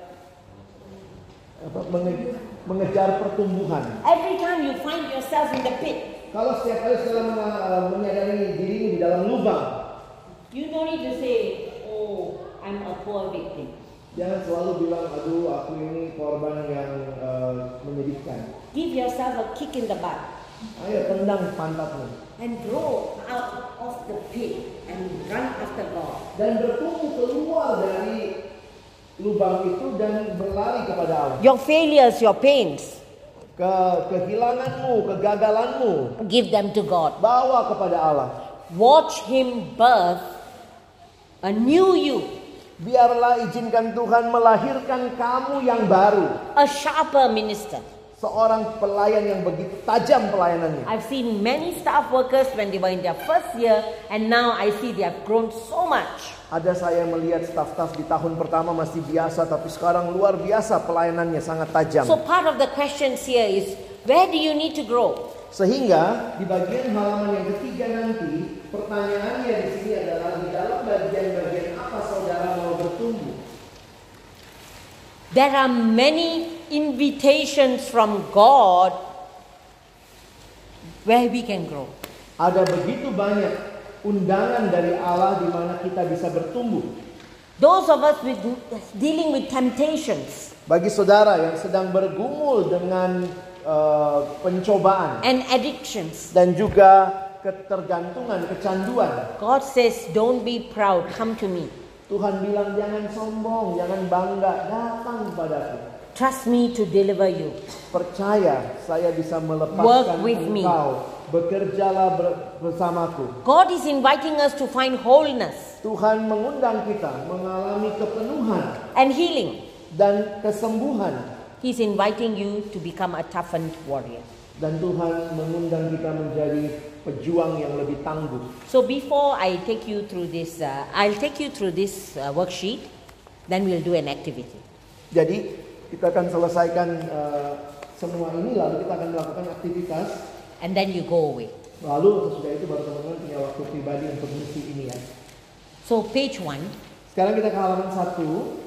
mengejar pertumbuhan. Every time you find yourself in the pit, Kalau setiap kali setelah menyadari dirimu di dalam lubang, you don't need to say, oh, I'm a poor victim. jangan selalu bilang, aduh aku ini korban yang menyedihkan. Give yourself a kick in the butt Ayo tendang pantatmu. and grow out of the pit and run after God. Dan bertumbuh keluar dari lubang itu dan berlari kepada Allah. Your failures, your pains, Kehilanganmu, kegagalanmu, give them to God. bawa kepada Allah. Watch Him birth a new you, Biarlah izinkan Tuhan melahirkan kamu yang baru. a sharper minister. Seorang pelayan yang begitu tajam pelayanannya. I've seen many staff workers when they were in their first year, and now I see they have grown so much. Ada saya melihat staf-staf di tahun pertama masih biasa, tapi sekarang luar biasa pelayanannya, sangat tajam. So part of the questions here is, where do you need to grow? Sehingga di bagian halaman yang ketiga nanti, pertanyaannya di sini adalah di dalam bagian-bagian apa saudara mau bertumbuh? There are many invitations from God where we can grow. Ada begitu banyak undangan dari Allah di mana kita bisa bertumbuh. Those of us dealing with temptations Bagi saudara yang sedang bergumul dengan pencobaan and addictions, dan juga ketergantungan, kecanduan, God says, don't be proud, come to me. Tuhan bilang jangan sombong, jangan bangga, datang padaku. Trust me to deliver you. Percaya saya bisa melepaskan Work with me. engkau. Bekerjalah bersamaku. God is inviting us to find wholeness Tuhan mengundang kita mengalami kepenuhan and healing. dan kesembuhan. He's inviting you to become a toughened warrior. Dan Tuhan mengundang kita menjadi pejuang yang lebih tangguh. So before I take you through this, I'll take you through this worksheet. Then we'll do an activity. Jadi kita akan selesaikan semua ini, lalu kita akan melakukan aktivitas. And then you go away. Lalu sesudah itu baru teman-teman punya waktu pribadi untuk misi ini ya. So page 1. Sekarang kita ke halaman 1.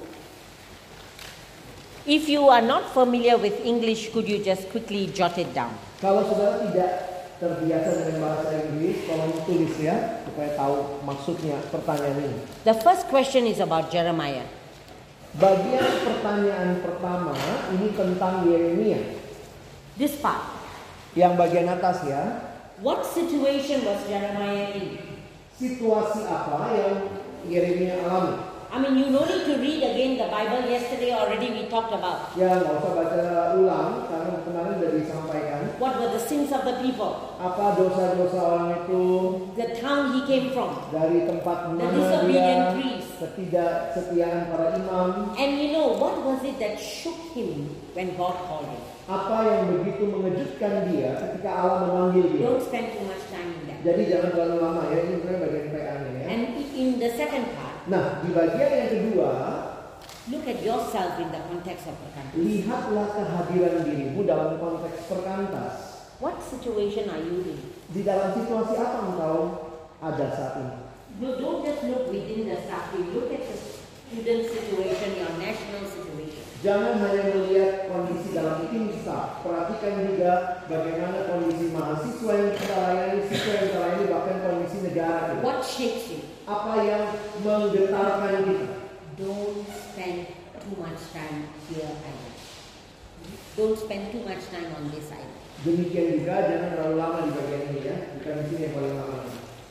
If you are not familiar with English, could you just quickly jot it down? Kalau saudara tidak terbiasa dengan bahasa Inggris, tolong tulis ya, supaya tahu maksudnya pertanyaan ini. The first question is about Jeremiah. Bagian pertanyaan pertama ini tentang Yeremia. This part. Yang bagian atas ya. What situation was Jeremiah in? Situasi apa yang Yeremia alami? I mean, you no need to read again the Bible. Yesterday already we talked about. Ya nggak usah baca ulang karena kemarin sudah disampaikan. What were the sins of the people? Apa dosa-dosa orang itu? The town he came from. Dari tempat The mana disobedient dia? priests. Ketidaksetiaan para imam. And you know, what was it that shook him when God called him? Apa yang begitu mengejutkan dia ketika Allah memanggil dia? Don't spend too much time in that. Jadi jangan terlalu lama ya, ini sebenarnya bagian PA-nya ya. And in the second part, Nah, di bagian yang kedua, look at yourself in the context of the country. lihatlah kehadiran dirimu dalam konteks perkantas. What situation are you in? Di dalam situasi apa engkau ada saat ini? No, don't just look within the staff. You look at the student situation, your national situation. Jangan hanya melihat kondisi dalam tim staff, perhatikan juga bagaimana kondisi mahasiswa yang kita layani, siswa yang kita layani, bahkan kondisi negara kita. What shakes you? Apa yang menggetarkan kita? Don't spend too much time here either. Don't spend too much time on this side. Demikian juga jangan terlalu lama di bagian ini ya, bukan di sini yang paling lama.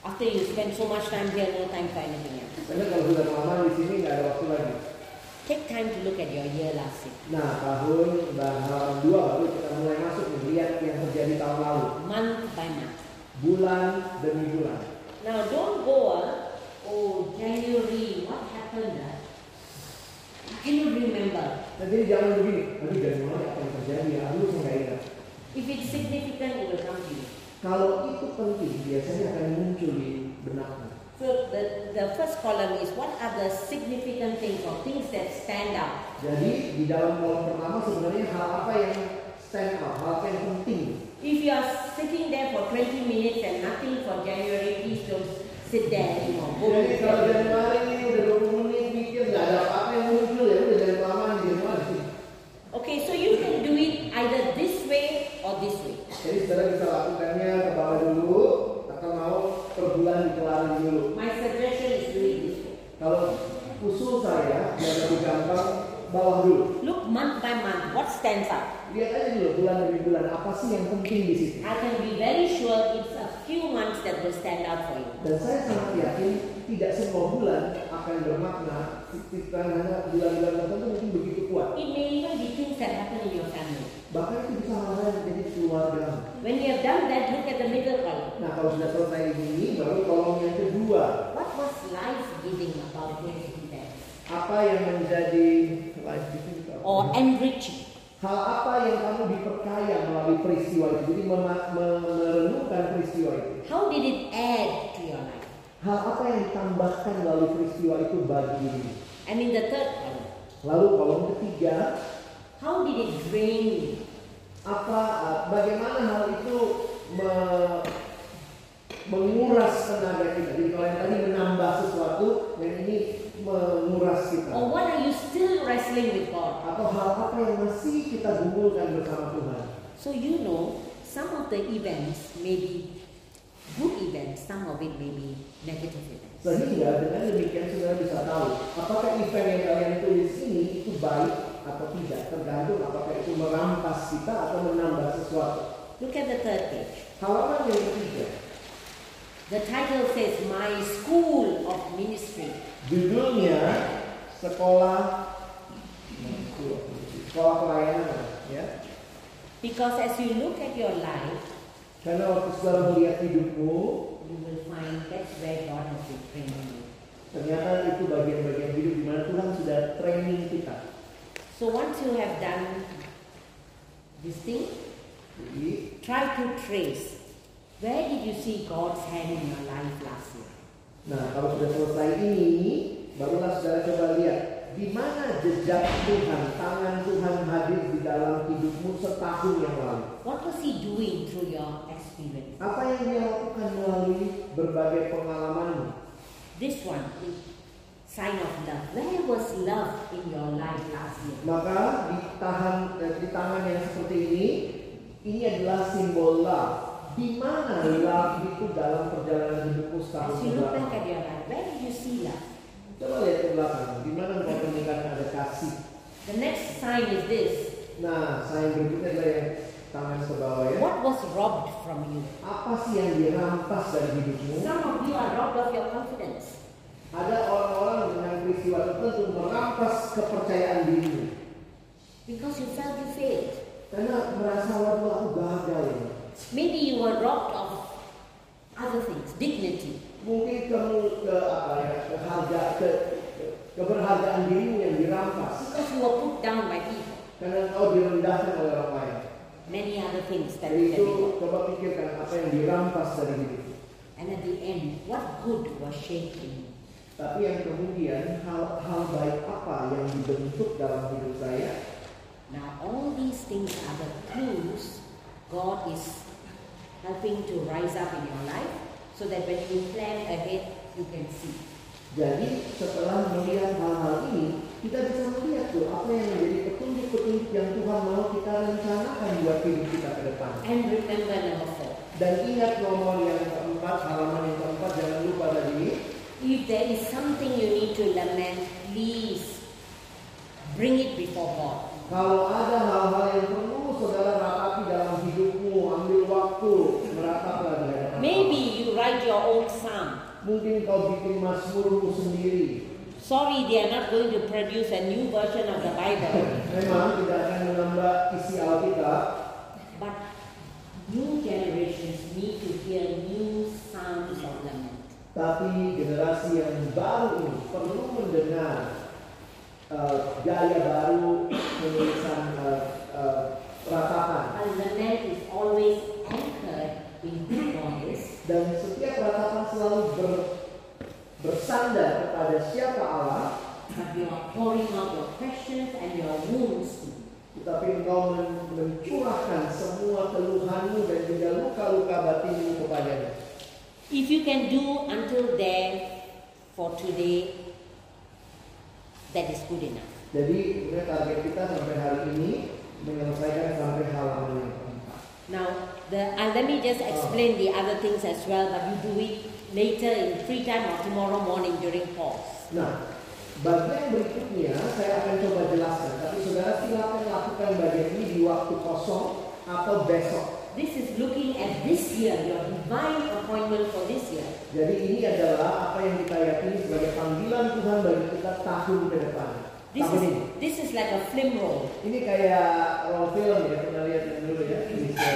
After you spend so much time here, no time for anything else. Karena kalau sudah lama di sini nggak ada waktu lagi. Take time to look at your year last year. Nah, tahun dan halaman 2 baru kita mulai masuk melihat yang terjadi tahun lalu. Month by month. Bulan demi bulan. Now don't go, oh January, what happened? Can you remember? Nah, jadi jangan begini. Aduh, Januari apa yang terjadi ya? Aduh, saya nggak ingat. If it's significant, it will come to you. Kalau itu penting, biasanya akan muncul di benaknya. So the first column is what are the significant things or things that stand out. Jadi di dalam kolom pertama sebenarnya hal apa yang stand out, hal apa yang penting. If you are sitting there for 20 minutes and nothing for January, please don't sit there anymore. Jadi kalau Januari ini udah 20 menit mikir nggak ada apa-apa yang muncul ya udah jangan kelamaan di Januari. Okay, so you can do it either this way or this way. Jadi saudara bisa lakukannya ke bawah dulu, atau mau per bulan dikelarin dulu. My suggestion is do it this way. Kalau usul saya biar lebih gampang, bawah dulu. Look month by month, what stands out? Lihat aja dulu bulan demi bulan apa sih yang penting di situ. I can be very sure it's a few months that will stand out for you. Dan saya sangat yakin tidak semua bulan akan bermakna. Karena bulan-bulan tertentu mungkin begitu kuat. It may even be things that happen in your family. Bahkan itu bisa hal-hal yang menjadi keluarga. When you have done that, look at the middle column. Nah, kalau sudah selesai ini, baru kolom yang kedua. What was life giving about those events? Apa yang menjadi life giving? Or enriching? Hal apa yang kamu diperkaya melalui peristiwa itu? Jadi merenungkan peristiwa itu. How did it add to your life? Hal apa yang ditambahkan melalui peristiwa itu bagi diri? And in the third column, Lalu kolom ketiga, how did it drain you? Bagaimana hal itu menguras tenaga kita? Jadi kalau yang tadi menambah sesuatu, yang ini menguras kita. Or what are you still wrestling with God? Atau hal apa yang masih kita gumulkan bersama Tuhan? So you know, some of the events may be good events, some of it may be negative events. Sehingga dengan demikian saudara bisa tahu apakah event yang kalian tulis ini itu baik atau tidak, tergantung apakah itu merampas kita atau menambah sesuatu. Look at the third page. Halaman yang ketiga. The title says My School of Ministry. Judulnya sekolah pelayanan, ya. Because as you look at your life, Karena waktu saudara melihat hidupmu, you will find that's where God has been training you. ternyata itu bagian-bagian hidup di mana Tuhan sudah training kita. So once you have done this thing, Jadi, try to trace where did you see God's hand in your life last year. nah kalau sudah selesai ini, barulah saudara coba lihat di mana jejak Tuhan, tangan Tuhan hadir di dalam hidupmu setahun yang lalu. What was He doing through your experience? Apa yang dia lakukan melalui berbagai pengalamanmu? This one is sign of love. Where was love in your life last year? Maka di tangan yang seperti ini adalah simbol love. Di mana love itu dalam perjalanan hidupmu setahun As you look back belakang? at your life, where did you see love? Coba lihat ke belakang. Di mana engkau temukan ada kasih? The next sign is this. Nah, saya berikutnya adalah yang tangan ke bawah ya. What was robbed from you? Apa sih yang dirampas dari hidupmu? Some of you are robbed of your confidence. Ada orang-orang dengan peristiwa tertentu merampas kepercayaan dirimu. Because you felt you failed. Karena merasa waduh aku gagal ini. Maybe you were robbed of other things, dignity. Mungkin kamu keberhargaan dirimu yang dirampas. Because you were put down by people. Karena engkau direndahkan oleh orang lain. Many other things that Jadi we itu coba pikirkan apa yang dirampas dari hidupmu. And at the end, what good was shaped in you? Tapi yang kemudian hal baik apa yang dibentuk dalam hidup saya? Now all these things are the clues God is helping to rise up in your life so that when you plan ahead, you can see. Jadi setelah melihat hal-hal ini, kita bisa melihat tuh apa yang menjadi petunjuk-petunjuk yang Tuhan mau kita rencanakan buat hidup kita ke depan. And remember number 4. Dan ingat nomor yang keempat, halaman yang keempat, jangan lupa tadi. If there is something you need to lament, please bring it before God. Kalau ada hal-hal yang perlu saudara ratapi dalam hidupmu, ambil waktu merataplah di hadapan engkau Maybe tahu. you write your own psalm. Mungkin kau bikin mazmurmu sendiri. Sorry, they are not going to produce a new version of the Bible. Memang tidak akan menambah isi Alkitab, But new generations need to hear new psalms of lament. tapi generasi yang baru ini perlu mendengar gaya baru penulisan ratapan. A lament is always anchored in good voice, Dan setiap ratapan selalu bersandar kepada siapa Allah, but you are pouring out your questions and your wounds. tetapi engkau mencurahkan semua keluhanmu dan juga luka-luka batinmu kepadanya. If you can do until there for today, that is good enough. Jadi target kita sampai hari ini menyelesaikan sampai halaman yang keempat. Now, let me just explain the other things as well, but you do it later in free time or tomorrow morning during pause. Nah, bagian berikutnya saya akan coba jelaskan. Tapi saudara silakan lakukan bagian ini di waktu kosong atau besok. This is looking at this year, your divine appointment for this year. Jadi ini adalah apa yang kita yakini sebagai panggilan Tuhan bagi kita tahun ke depan. Tahun ini. This is like a film roll. Ini kayak roll film ya, pernah lihat yang dulu ya.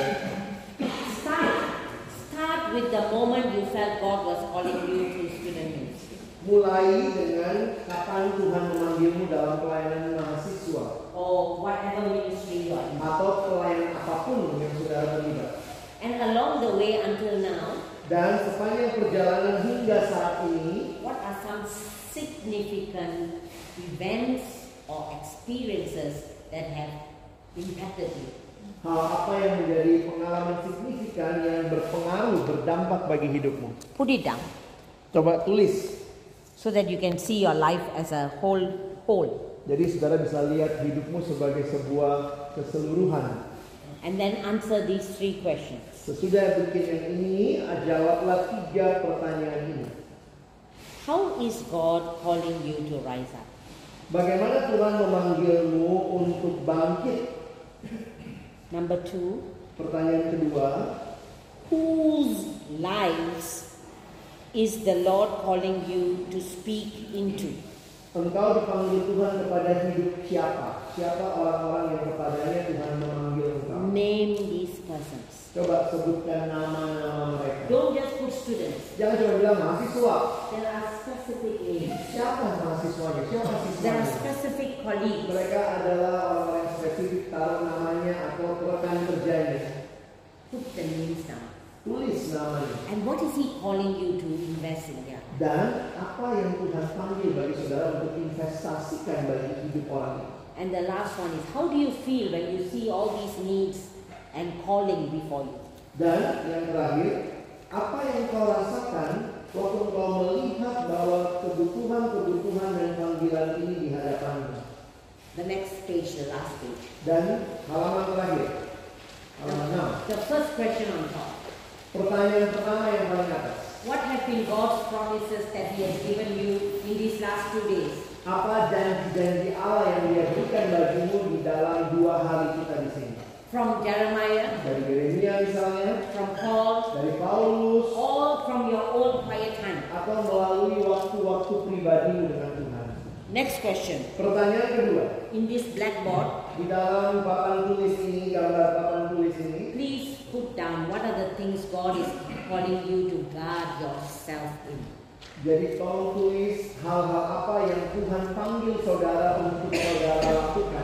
Start with the moment you felt God was calling you to student ministry. Mulai dengan kapan Tuhan memanggilmu dalam pelayanan mahasiswa Or whatever ministry you are in. atau pelayanan apapun yang saudara terlibat. And along the way until now, Dan sepanjang perjalanan hingga saat ini, what are some significant events or experiences that have impacted you? hal apa yang menjadi pengalaman signifikan yang berpengaruh, berdampak bagi hidupmu? Put it down Coba tulis. so that you can see your life as a whole. Jadi saudara bisa lihat hidupmu sebagai sebuah keseluruhan. And then answer these 3 questions. Sesudah bikin yang ini, jawablah 3 pertanyaan ini. How is God calling you to rise up? Bagaimana Tuhan memanggilmu untuk bangkit? Number 2, Pertanyaan kedua, whose lives is the Lord calling you to speak into? engkau dipanggil Tuhan kepada hidup siapa? Siapa orang-orang yang kepadanya Tuhan memanggil engkau? Name these persons. Coba sebutkan nama-nama mereka. Don't just put students. Jangan cuma bilang mahasiswa. There are specific names. Siapa mahasiswanya? Siapa There are siswanya? specific colleagues. Mereka adalah orang-orang yang spesifik, taruh namanya atau rekan kerjanya. Put the names down. Tulis namanya. And what is He calling you to invest in there? Dan apa yang Tuhan panggil bagi saudara untuk investasikan bagi hidup orang itu. And the last one is, how do you feel when you see all these needs and calling before you? Dan yang terakhir, apa yang kau rasakan waktu kau melihat bahwa kebutuhan dan panggilan ini di hadapanmu? The next page, the last page. Dan halaman terakhir, halaman 6. The first question on top. Pertanyaan pertama yang paling atas. What have been God's promises that He has given you in these last 2 days? Apa janji-janji Allah yang Dia berikan bagimu di dalam 2 hari kita di sini? From Jeremiah, Dari Yeremia misalnya, from Paul, dari Paulus, all from your own quiet time. atau melalui waktu-waktu pribadimu dengan Tuhan. Next question. Pertanyaan kedua, In this blackboard, di dalam papan tulis ini, gambar papan tulis ini, please put down what are the things God is calling you to guard yourself in. jadi tolong tulis hal-hal apa yang Tuhan panggil saudara untuk saudara lakukan.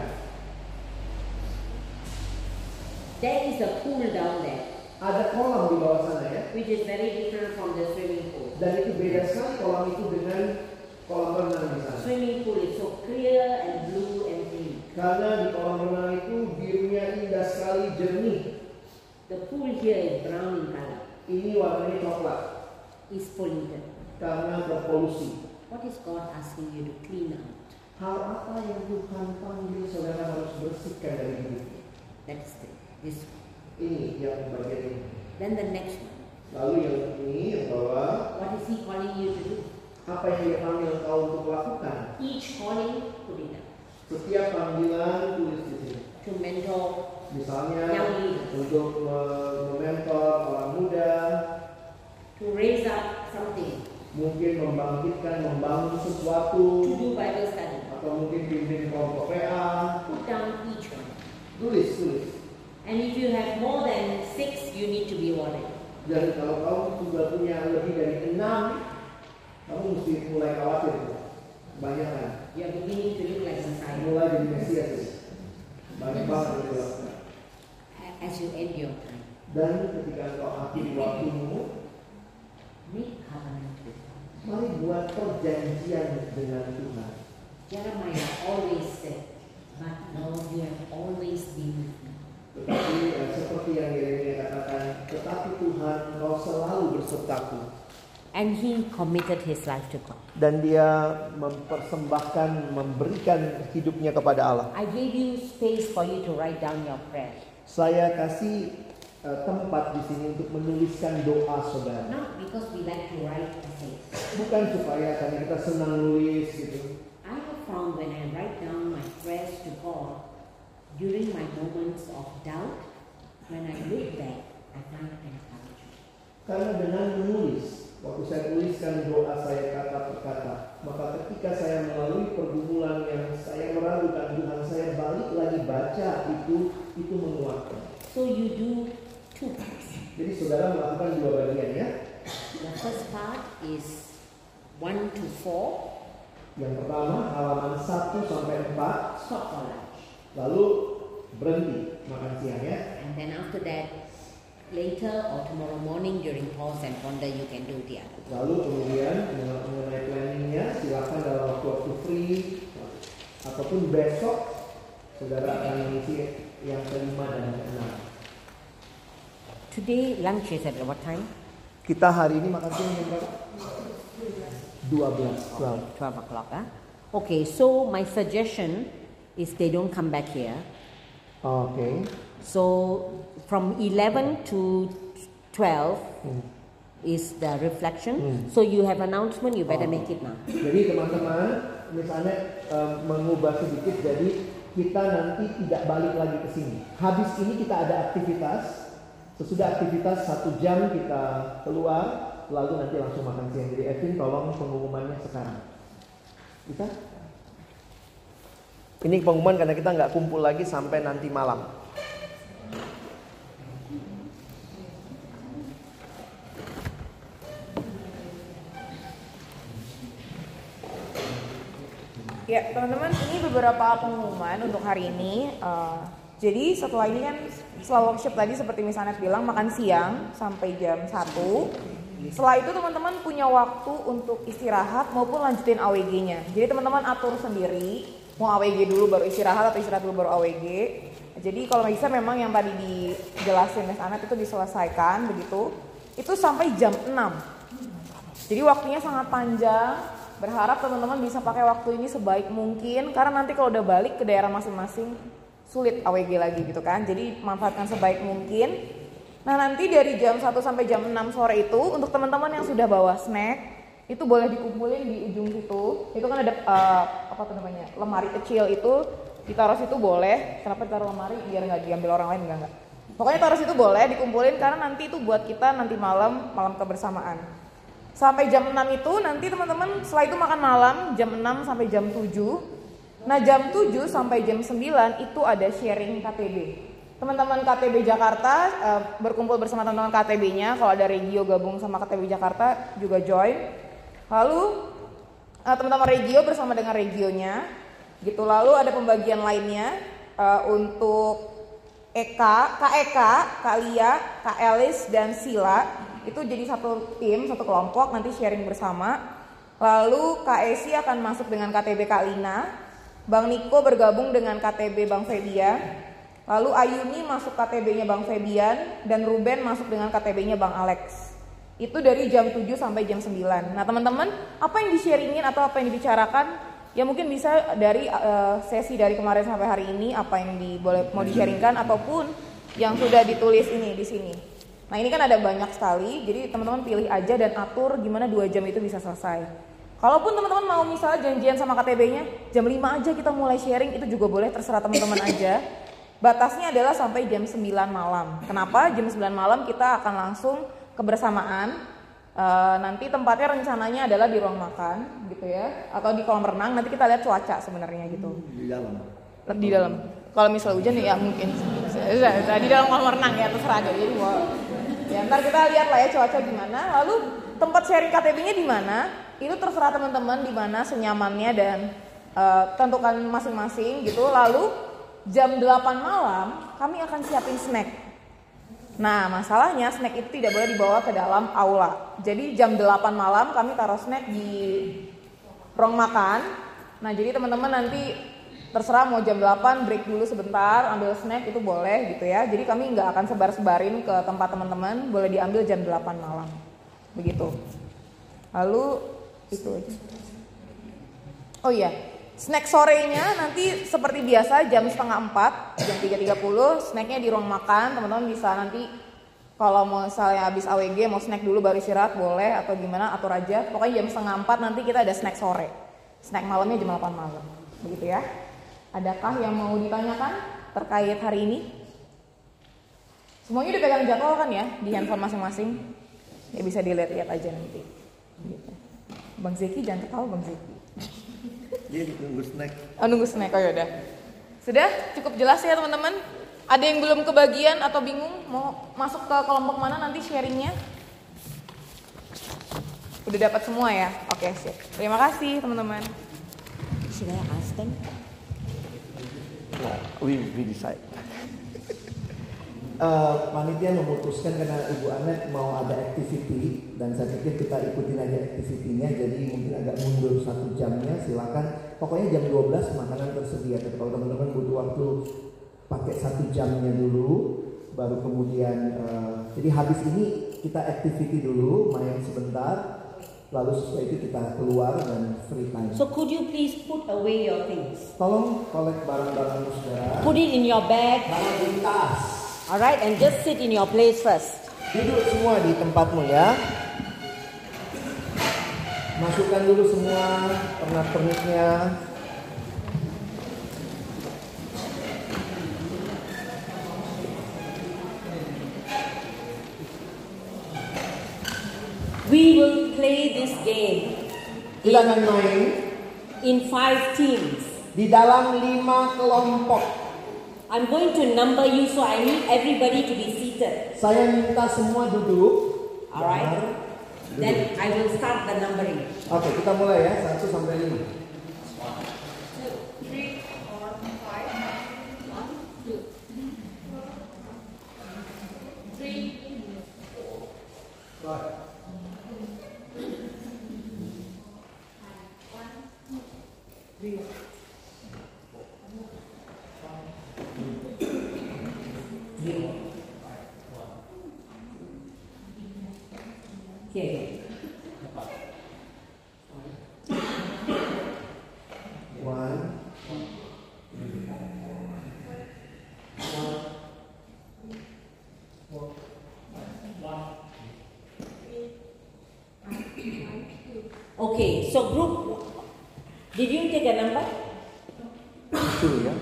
There is a pool down there, Ada kolam di bawah sana ya, which is very different from the swimming pool. dan itu beda sekali kolam itu dengan kolam renang di sana. Swimming pool is so clear and blue and clean. Karena di kolam renang itu birunya indah sekali, jernih. The pool here is brown in color, Ini warnanya coklat is polluted. karena berpolusi. What is God asking you to clean out? Hal apa yang Tuhan panggil saudara harus bersihkan dari hidupnya? That is this one. Ini yang bagian ini. Then the next one. Lalu yang ini yang bawah, What is He calling you to do? apa yang Dia panggil engkau untuk lakukan? Each calling, put it down. Setiap panggilan tulis di sini. To mentor Misalnya young leaders, untuk mementor orang muda, to raise up something, Mungkin membangun sesuatu, to do Bible study. atau mungkin pimpin kelompok PA. Put down each one. Tulis. And if you have more than 6, you need to be worried. Dan kalau kamu sudah punya lebih dari 6, kamu mesti mulai khawatir. Banyak kan? You are beginning to look like Messiah Mulai jadi Mesias. Banyak banget yang dilakukan. as you end your time. Dan ketika engkau akhiri waktumu, Make covenant with God. mari buat perjanjian dengan Tuhan. Jeremiah always said, "But Lord, you have always been with me." Tetapi seperti yang Yeremia katakan, tetapi Tuhan kau selalu bersertaku. And he committed his life to God. Dan dia mempersembahkan, memberikan hidupnya kepada Allah. I gave you space for you to write down your prayer. Saya kasih tempat di sini untuk menuliskan doa saudara. Not because we like to write essays. Bukan supaya karena kita senang nulis gitu. I have found when I write down my prayers to God, during my moments of doubt, when I look back, I find encouragement. Karena dengan menulis, waktu saya tuliskan doa saya kata per kata, maka ketika saya melalui pergumulan yang saya meragukan Tuhan, saya balik lagi baca itu menguatkan. So you do 2 parts. Jadi saudara melakukan 2 bagian ya. The first part is 1 to 4, Yang pertama halaman 1 sampai 4, stop for lunch. lalu berhenti makan siang ya. And then after that, later or tomorrow morning during pause and wonder, you can do the other. Lalu kemudian mengenai planningnya silakan dalam waktu free ataupun besok saudara akan mengisi yang kelima dan keenam. Today lunch is at what time? Kita hari ini makan siang jam berapa? 12. 12 o'clock. Okay, so my suggestion is they don't come back here. Oke. So from 11 to 12 is the reflection. So you have announcement, you better make it now. Jadi teman-teman, misalnya mengubah sedikit, jadi kita nanti tidak balik lagi ke sini. Habis ini kita ada aktivitas. Sesudah aktivitas 1 jam kita keluar, lalu nanti langsung makan siang. Jadi Evin tolong pengumumannya sekarang. Bisa? Ini pengumuman karena kita nggak kumpul lagi sampai nanti malam. Ya teman-teman, ini beberapa pengumuman untuk hari ini. Jadi setelah ini kan, setelah workshop tadi seperti misalnya bilang makan siang sampai jam 1. Setelah itu teman-teman punya waktu untuk istirahat maupun lanjutin AWG-nya. Jadi teman-teman atur sendiri, mau AWG dulu baru istirahat atau istirahat dulu baru AWG. Jadi kalau bisa memang yang tadi dijelasin Mas Anet itu diselesaikan begitu. Itu sampai jam 6. Jadi waktunya sangat panjang. Berharap teman-teman bisa pakai waktu ini sebaik mungkin, karena nanti kalau udah balik ke daerah masing-masing sulit AWG lagi gitu kan. Jadi manfaatkan sebaik mungkin. Nah nanti dari jam 1 sampai jam 6 sore itu untuk teman-teman yang sudah bawa snack itu boleh dikumpulin di ujung situ. Itu kan ada lemari kecil itu ditaruh situ boleh. Kenapa ditaruh lemari? Biar nggak diambil orang lain, enggak. Pokoknya taruh situ boleh dikumpulin karena nanti itu buat kita nanti malam kebersamaan. Sampai jam 6 itu nanti teman-teman setelah itu makan malam jam 6 sampai jam 7. Nah jam 7 sampai jam 9 itu ada sharing KTB. Teman-teman KTB Jakarta berkumpul bersama teman-teman KTB-nya. Kalau ada Regio gabung sama KTB Jakarta juga join. Lalu teman-teman Regio bersama dengan Regionya gitu. Lalu ada pembagian lainnya untuk Eka, Kak Eka, Kak Lia, Kak Elis dan Sila. Itu jadi satu tim, satu kelompok nanti sharing bersama. Lalu Kak Esi akan masuk dengan KTB Kak Lina. Bang Niko bergabung dengan KTB Bang Febian. Lalu Ayuni masuk KTB-nya Bang Febian dan Ruben masuk dengan KTB-nya Bang Alex. Itu dari jam 7 sampai jam 9. Nah teman-teman, apa yang di-sharingin atau apa yang dibicarakan, ya mungkin bisa dari sesi dari kemarin sampai hari ini, apa yang mau di-sharingkan ataupun yang sudah ditulis ini di sini. Nah ini kan ada banyak sekali, jadi teman-teman pilih aja dan atur gimana 2 jam itu bisa selesai. Kalaupun teman-teman mau misalnya janjian sama KTB-nya, jam 5 aja kita mulai sharing, itu juga boleh, terserah teman-teman aja. Batasnya adalah sampai jam 9 malam. Kenapa? Jam 9 malam kita akan langsung kebersamaan. Nanti tempatnya rencananya adalah di ruang makan gitu ya, atau di kolam renang. Nanti kita lihat cuaca sebenarnya gitu. Di dalam. Di dalam. Kalau misalnya hujan ya mungkin di dalam kolam renang ya, terserah deh. Jadi ya ntar kita lihat lah ya cuaca gimana. Lalu tempat sharing KTB-nya di mana? Itu terserah teman-teman di mana senyamannya dan tentukan masing-masing gitu. Lalu jam 8 malam kami akan siapin snack. Nah masalahnya snack itu tidak boleh dibawa ke dalam aula. Jadi jam 8 malam kami taruh snack di ruang makan. Nah jadi teman-teman nanti terserah mau jam 8 break dulu sebentar ambil snack itu boleh gitu ya. Jadi kami nggak akan sebar-sebarin ke tempat teman-teman, boleh diambil jam 8 malam begitu. Lalu itu aja. Oh iya, snack sorenya nanti seperti biasa jam 3:30, jam 3:30 snacknya di ruang makan. Teman-teman bisa nanti kalau mau misalnya habis AWG mau snack dulu baru istirahat boleh atau gimana atur aja. Pokoknya jam 3:30 nanti kita ada snack sore. Snack malamnya jam 8 malam. Begitu ya. Adakah yang mau ditanyakan terkait hari ini? Semuanya udah pegang jadwal kan ya di handphone masing-masing? Ya bisa dilihat-lihat aja nanti. Gitu. Bang Zeki jangan ketawa Bang Zeki. Dia nunggu snack. Oh nunggu snack, oh yaudah. Sudah cukup jelas ya teman-teman? Ada yang belum kebagian atau bingung mau masuk ke kelompok mana nanti sharingnya? Udah dapat semua ya? Oke sip. Terima kasih teman-teman. Should I ask them? We decide. Panitia memutuskan karena Ibu Anet mau ada activity dan saya pikir kita ikutin aja activity-nya, jadi mungkin agak mundur 1 jamnya, silakan. Pokoknya jam 12 makanan tersedia. Tapi kalau teman-teman butuh waktu pakai 1 jamnya dulu, baru kemudian jadi habis ini kita activity dulu, main sebentar. Lalu setelah itu kita keluar dan free time. So could you please put away your things? Tolong kolek barang-barang saudara. Put it in your bag. Barang di tas. Alright, and just sit in your place first. Duduk semua di tempatmu ya. Masukkan dulu semua pernak-perniknya. We will play this game Kita akan main in 5 teams. di dalam 5 kelompok. I'm going to number you, so I need everybody to be seated. Saya minta semua duduk. Alright? Duduk. Then I will start the numbering. Oke, kita mulai ya, 1 sampai 5. 2, 3, 4, 5, 1, 2, 3, 4. Here. 1. Okay, so group, did you take a number? 2 ya.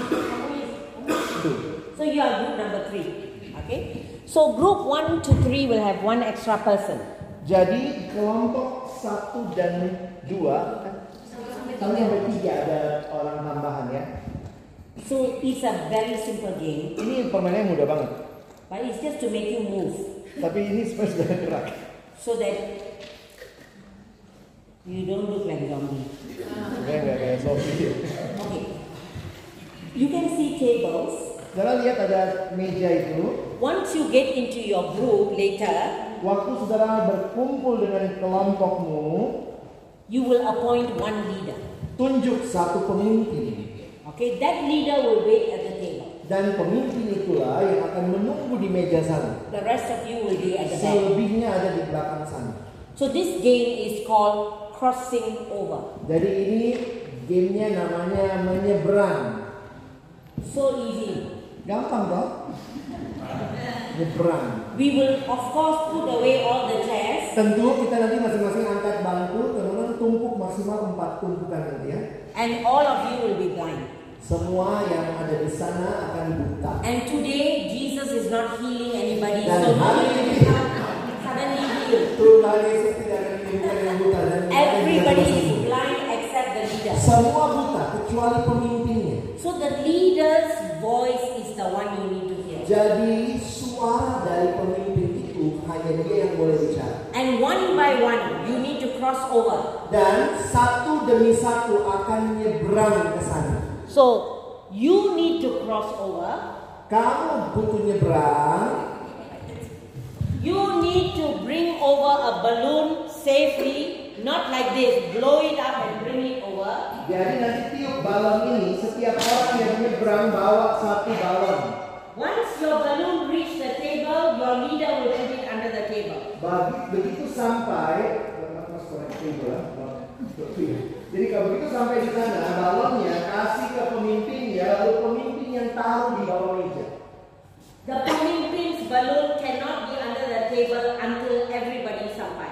2. So you are group number 3. Okay. So group 1 to 3 will have 1 extra person. Jadi kelompok 1 dan 2 sampai 3 ada orang tambahan ya. So it's a very simple game, Ini permainannya mudah banget. but it's just to make you move Tapi ini sebenarnya sudah gerak. so that you don't look like zombie. Enggak kayak Sophie. Okay. You can see tables. Saudara lihat ada meja itu. Once you get into your group later, Waktu saudara berkumpul dengan kelompokmu, you will appoint one leader. tunjuk satu pemimpin. Okay, that leader will wait at the table. Dan pemimpin itulah yang akan menunggu di meja sana. The rest of you will be at the back. Selebihnya ada di belakang sana. So this game is called crossing over. Jadi ini gamenya namanya menyeberang. So easy. Gampang toh? Nyebrang. We will of course put away all the chairs, Tentu kita nanti masing-masing angkat bangku, teman-teman tumpuk maksimal 4 tumpukan nanti ya. and all of you will be blind. Semua yang ada di sana akan buta. And today Jesus is not healing anybody, Dan so hari nobody ini will become suddenly he healed. Tuhan Yesus tidak akan menyembuhkan yang buta dan Everybody is blind except the leader. semua buta kecuali pemimpinnya. So the leader's voice is the one you need to hear. Jadi suara dari pemimpin itu hanya dia yang boleh bicara. And one by one, you need to cross over. Dan satu demi satu akan nyebrang ke sana. So you need to cross over. Kamu butuh nyebrang. You need to bring over a balloon safely, not like this, blow it up and bring it over. Jadi nanti tiup balon ini, setiap orang yang nyebrang bawa satu balon. Once your balloon reach the table, your leader will put it under the table. Begitu sampai, jadi kalau begitu sampai di sana, balonnya kasih ke pemimpinnya, lalu pemimpin yang taruh di bawah meja. The pemimpin's balloon cannot be under the table until everybody sampai.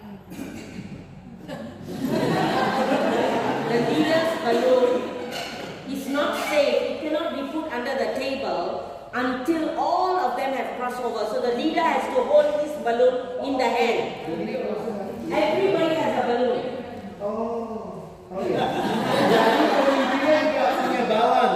The leader's balloon is not safe. It cannot be put under the table until all of them have crossed over. So the leader has to hold this balloon in the hand. Everybody has a balloon. Oh ya. Jadi pemimpinnya juga punya balon.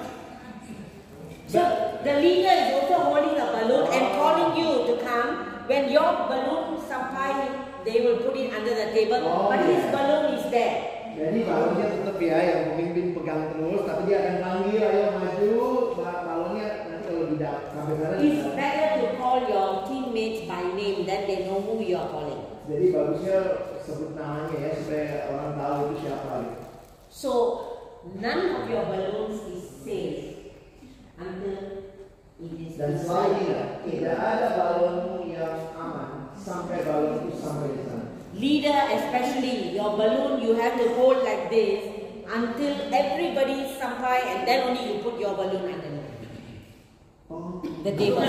So the leader is also holding a balloon and calling you to come. When your balloon sampai, they will put it under the table. But his balloon is there. Jadi balonnya tetap ya, yang pemimpin pegang terus, tapi dia akan panggil, ayo maju, balonnya nanti kalau tidak sampai sana. It's better to call your teammates by name, then they know who you are calling. Jadi bagusnya sebut namanya ya, supaya orang tahu itu siapa. So none of your balloons is safe until it is. Dan selalu ingat, tidak ada balonmu yang aman sampai balon itu sampai di sana. Leader, especially your balloon, you have to hold like this until everybody sampai, and then only you put your balloon under the table.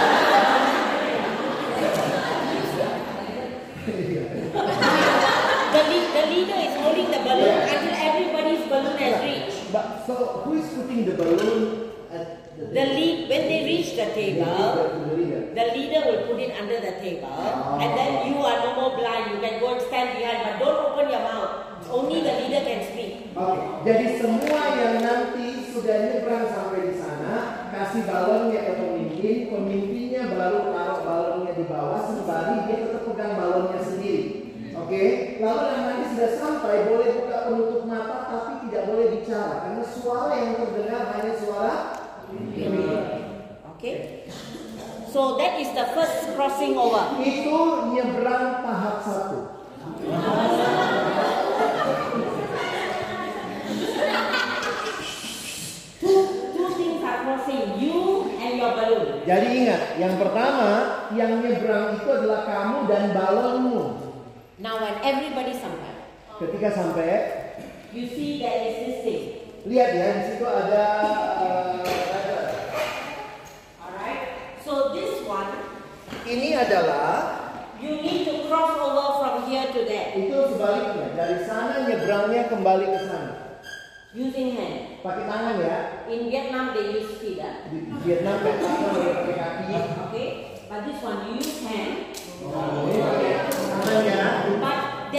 The leader is holding the balloon until everybody's balloon has reached. But so who is putting the balloon at When they reach the table, the leader will put it under the table, and then you are no more blind. You can go and stand behind, but don't open your mouth. Only the leader can speak. Oke, jadi semua yang nanti sudah nyebrang sampai di sana, kasih balonnya ke pemimpin, pemimpinnya baru taruh balonnya di bawah, sembari dia tetap pegang balonnya sendiri. Oke, lalu yang nanti sudah sampai boleh buka penutup mata, tapi tidak boleh bicara, karena suara yang terdengar hanya suara. Okay, so that is the first crossing over. Itu nyebrang tahap 1. Two things are crossing, you and your balloon. Jadi ingat, yang pertama yang nyebrang itu adalah kamu dan balonmu. Now when everybody sampai, Ketika sampai, you see there is this thing. lihat ya, di situ ada. So this one, Ini adalah you need to cross over from here to there itu sebaliknya, dari sana nyebrangnya kembali ke sana. using hand. Pakai tangan ya. In Vietnam they use feet. Di Vietnam pakai tangan, pakai kaki. Okay, but this one you use hand. Ini pakai tangannya. But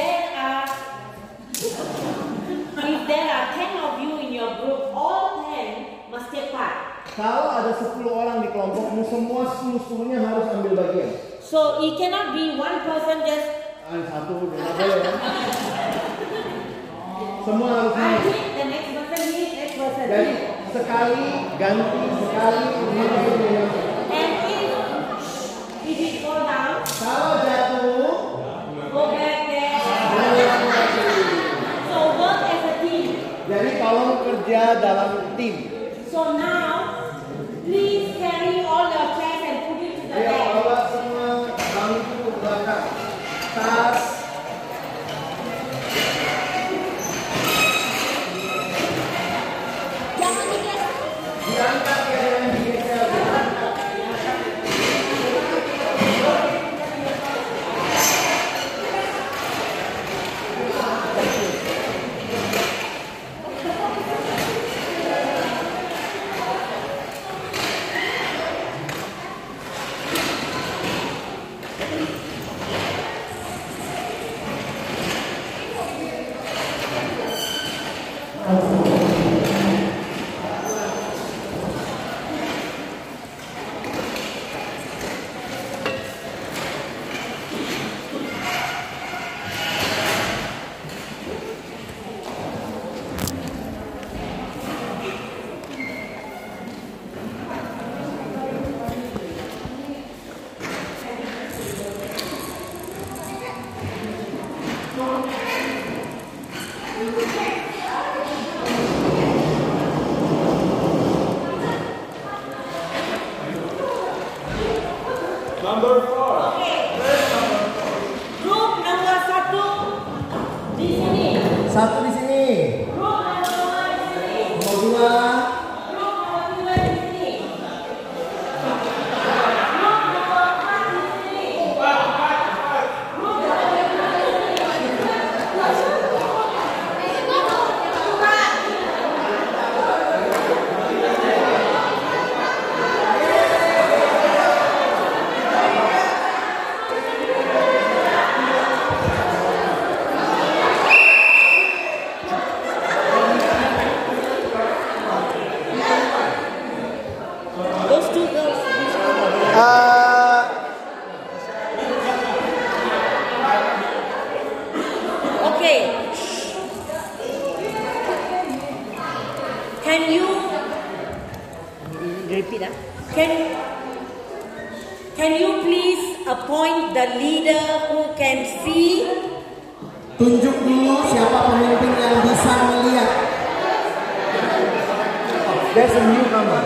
if there are 10 of you in your group, all 10 must take part. Kalau ada 10 orang di kelompokmu, semua 10-10-nya harus ambil bagian. So it cannot be one person just. Satu, nggak boleh ya. Semua harus I ambil. hit, the next person hit, next person Jadi hit. sekali ganti, sekali ini. And if it fall down, Kalau jatuh, go back there. So work as a team. jadi tolong kerja dalam tim. So now, please carry all your chairs and put it to the Ayo back. bawa semua bangku ke belakang. Tas. Jangan digeser. Diangkat ya, jangan digeser. Grup nomor 1 di sini. Satu di sini. Grup nomor 2 di sini. Nomor 2. Grup nomor 3 di sini. Grup nomor 4 di sini. Those two girls. Okay. Can you repeat? Can you please appoint the leader who can see? Tunjuk dulu siapa pemimpin yang bisa melihat. There's a newcomer.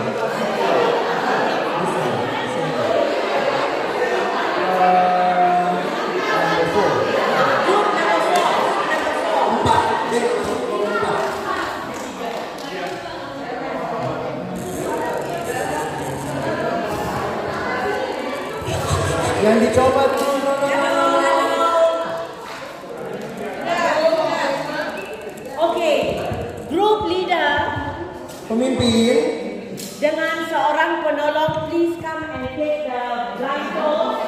Yang dicoba dulu. Okay, group leader Pemimpin. dengan seorang penolong, please come and take the blindfold.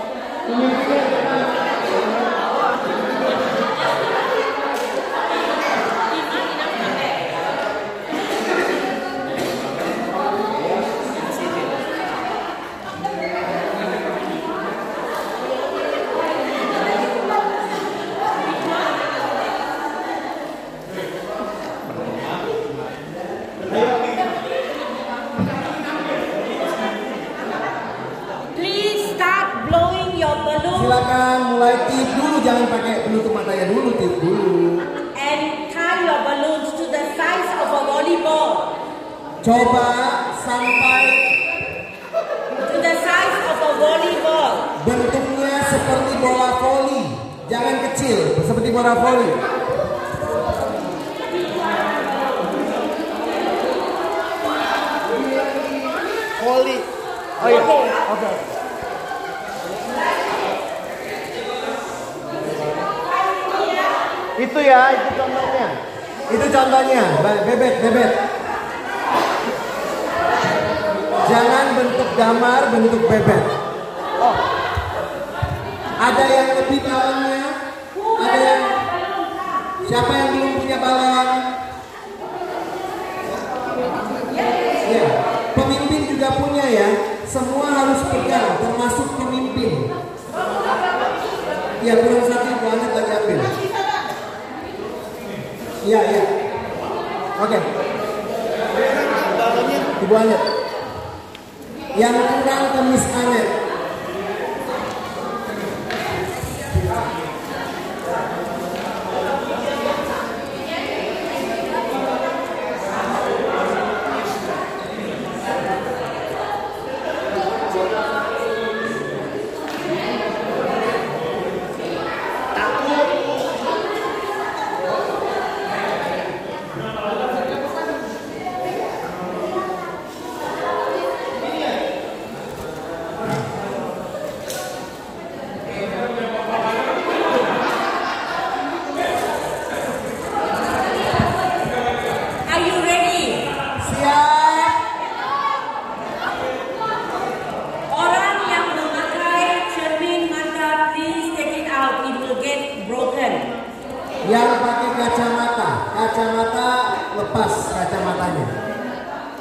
Please start blowing your balloon Silakan mulai tiup dulu, jangan pakai penutup matanya dulu, tiup dulu. and tie your balloons to the size of a volleyball. Coba sampai To the size of a volleyball. bentuknya seperti bola voli, jangan kecil, seperti bola voli. Voli. Oh iya. Oke. Itu ya, itu contohnya. Itu contohnya, bebek. Jangan bentuk damar, bentuk bebek. Oh. Ada yang lebih balonnya? Ada yang? Siapa yang belum punya balon? Ya, pemimpin juga punya ya. Semua harus pegang, termasuk pemimpin. Ya, kurang satu, Bu Anet lagi ambil. Iya. Oke. Ibu Anet. Yang kurang ke Miss Anet.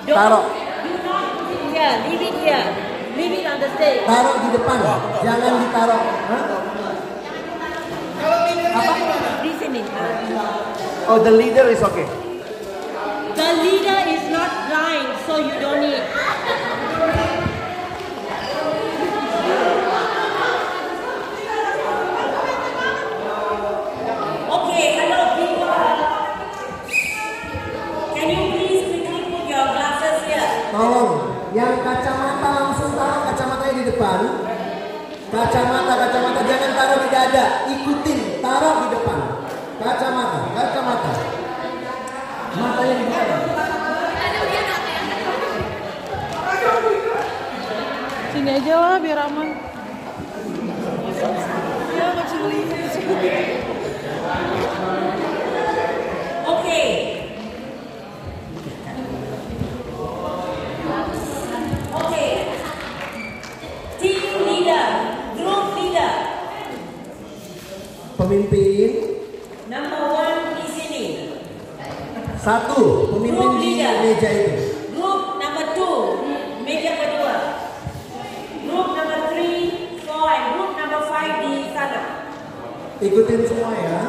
Taruh. Do not put it here. Leave it here. Leave it on the stage. Taruh di depan, jangan ditaruh. Hah? Di sini. Oh, the leader is okay. The leader is not blind, so you don't need. Okay, hello people. Can you please quickly put your glasses here? Tolong, yang kacamata langsung taruh kacamatanya di depan. Kacamata jangan taruh di dada, ikutin, taruh di depan. Kacamata. Matanya di depan. Sini aja lah biar aman. Ya kecil. Okay. Okay. Team leader, group leader. Pemimpin. Number 1 di sini. Satu, pemimpin Group di leader. meja itu. Group number 2, meja kedua. Group number 3, 4, and group number 5 di sana. Ikutin semua ya.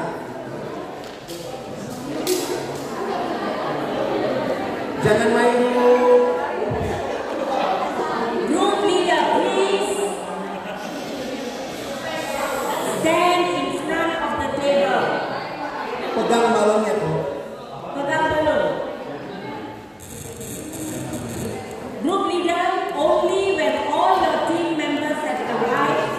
Jangan main dulu. Group leader, please stand in front of the table. Pegang balonnya tuh. Pegang dulu. Group leader, only when all your team members have arrived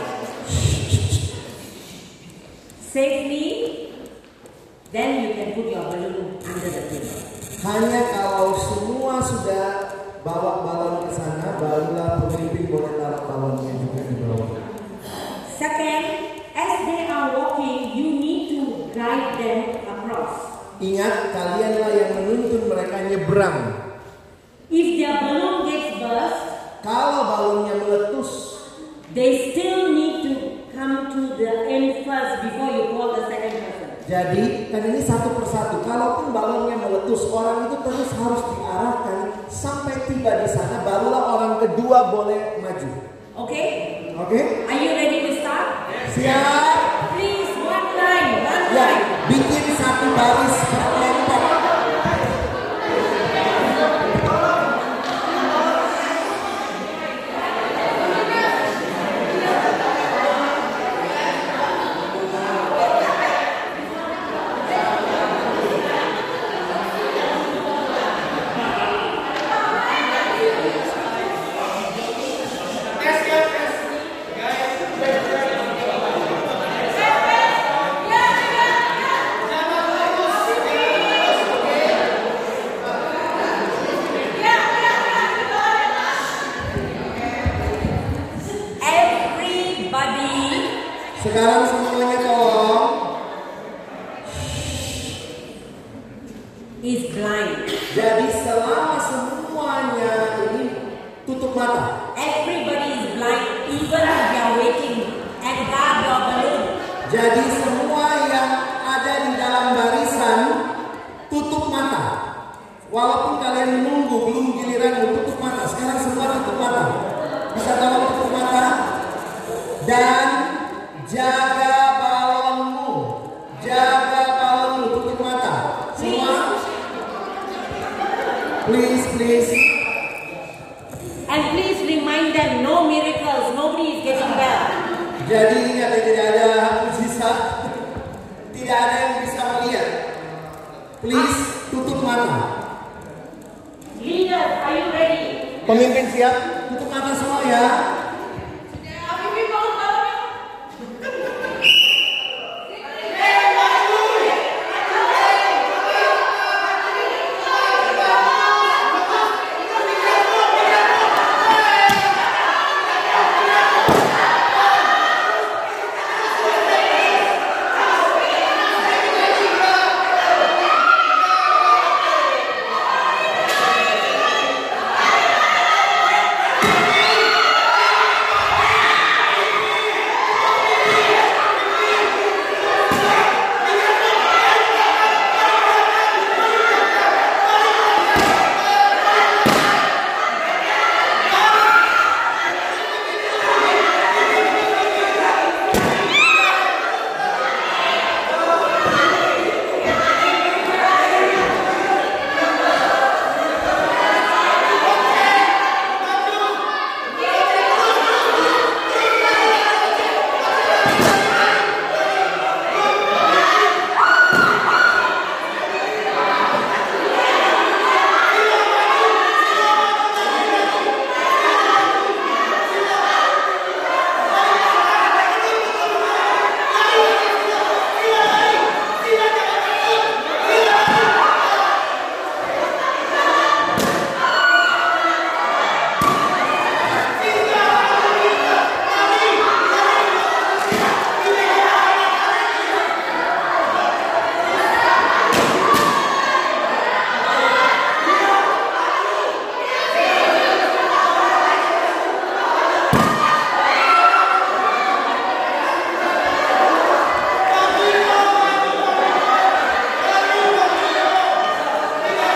safely, then you can put your balloon under the table. Hanya kalau semua sudah bawa balon ke sana, barulah pemimpin boleh taruh balonnya juga di bawah. Second, as they are walking, you need to guide them across. Ingat, kalianlah yang menuntun mereka nyebrang. If their balloon gets burst, Kalau balonnya meletus, they still need to come to the end first before you call the second person. jadi kan ini satu persatu. Kalaupun balonnya meletus, orang itu terus harus diarahkan sampai tiba di sana, barulah orang kedua boleh maju. Okay? Oke? Are you ready to start? Siap? Please, one line. Ya, bikin satu baris berkelompok. Sekarang semuanya tolong. Is blind. Jadi selama semuanya ini tutup mata. Everybody is blind, even if you are waiting and guard your balloon. Jadi semua yang ada di dalam barisan tutup mata. Walaupun kalian menunggu belum giliran tutup mata. Sekarang semua tutup mata. Bisa tolong tutup mata dan jaga balonmu. Jaga balonmu, tutup mata. Semua. Please. And please remind them, no miracles, nobody is getting well. Jadi ingat, tidak ada mujizat, tidak ada yang bisa melihat. Please tutup mata. Leaders, are you ready? Pemimpin siap? Tutup mata semua ya.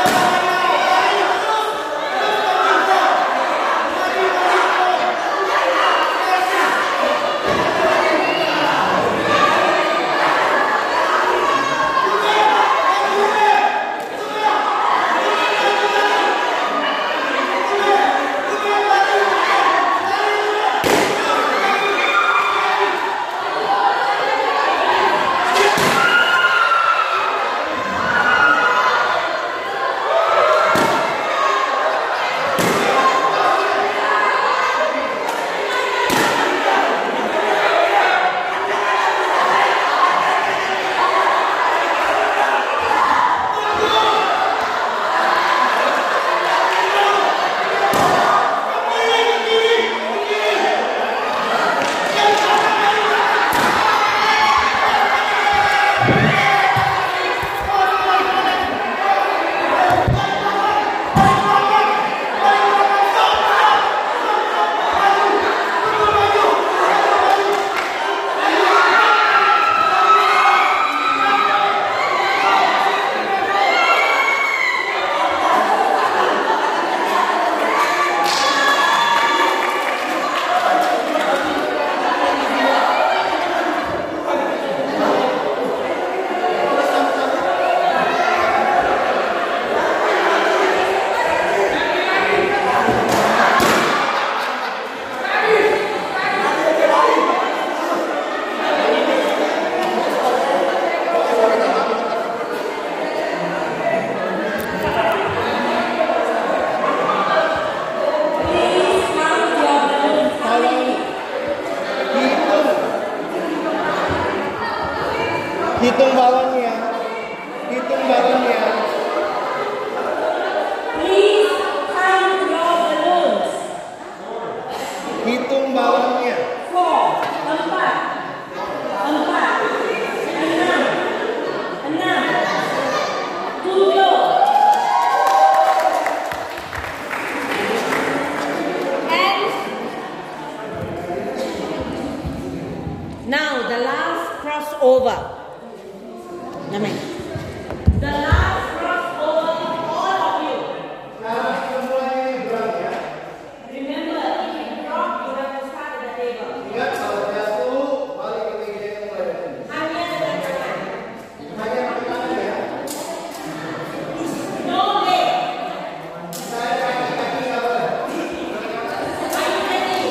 Hitung balonnya. Hitung balonnya. Please count your balloons. Hitung balonnya. 4, 4, 6, 7. And now the last crossover. Amen. The last crossover of all of you. Remember, if you drop, you have to start at the table. Hanya dengan tangan. No leg. Are you ready?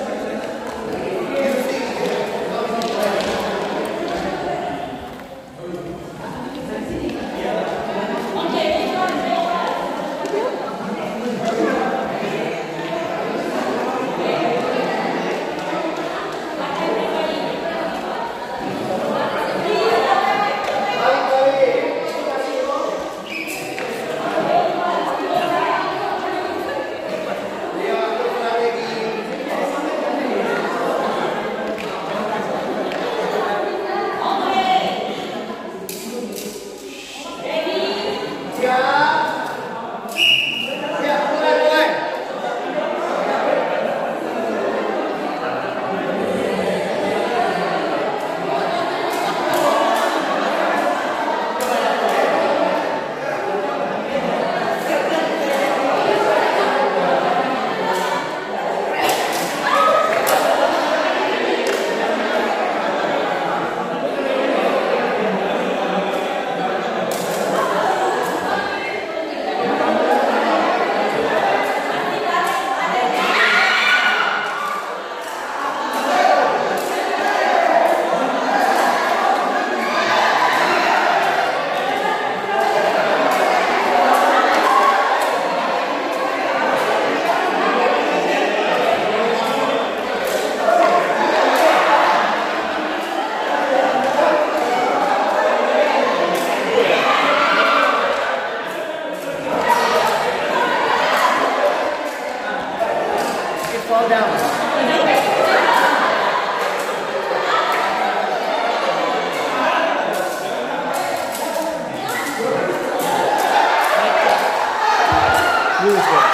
Fall down. Use it.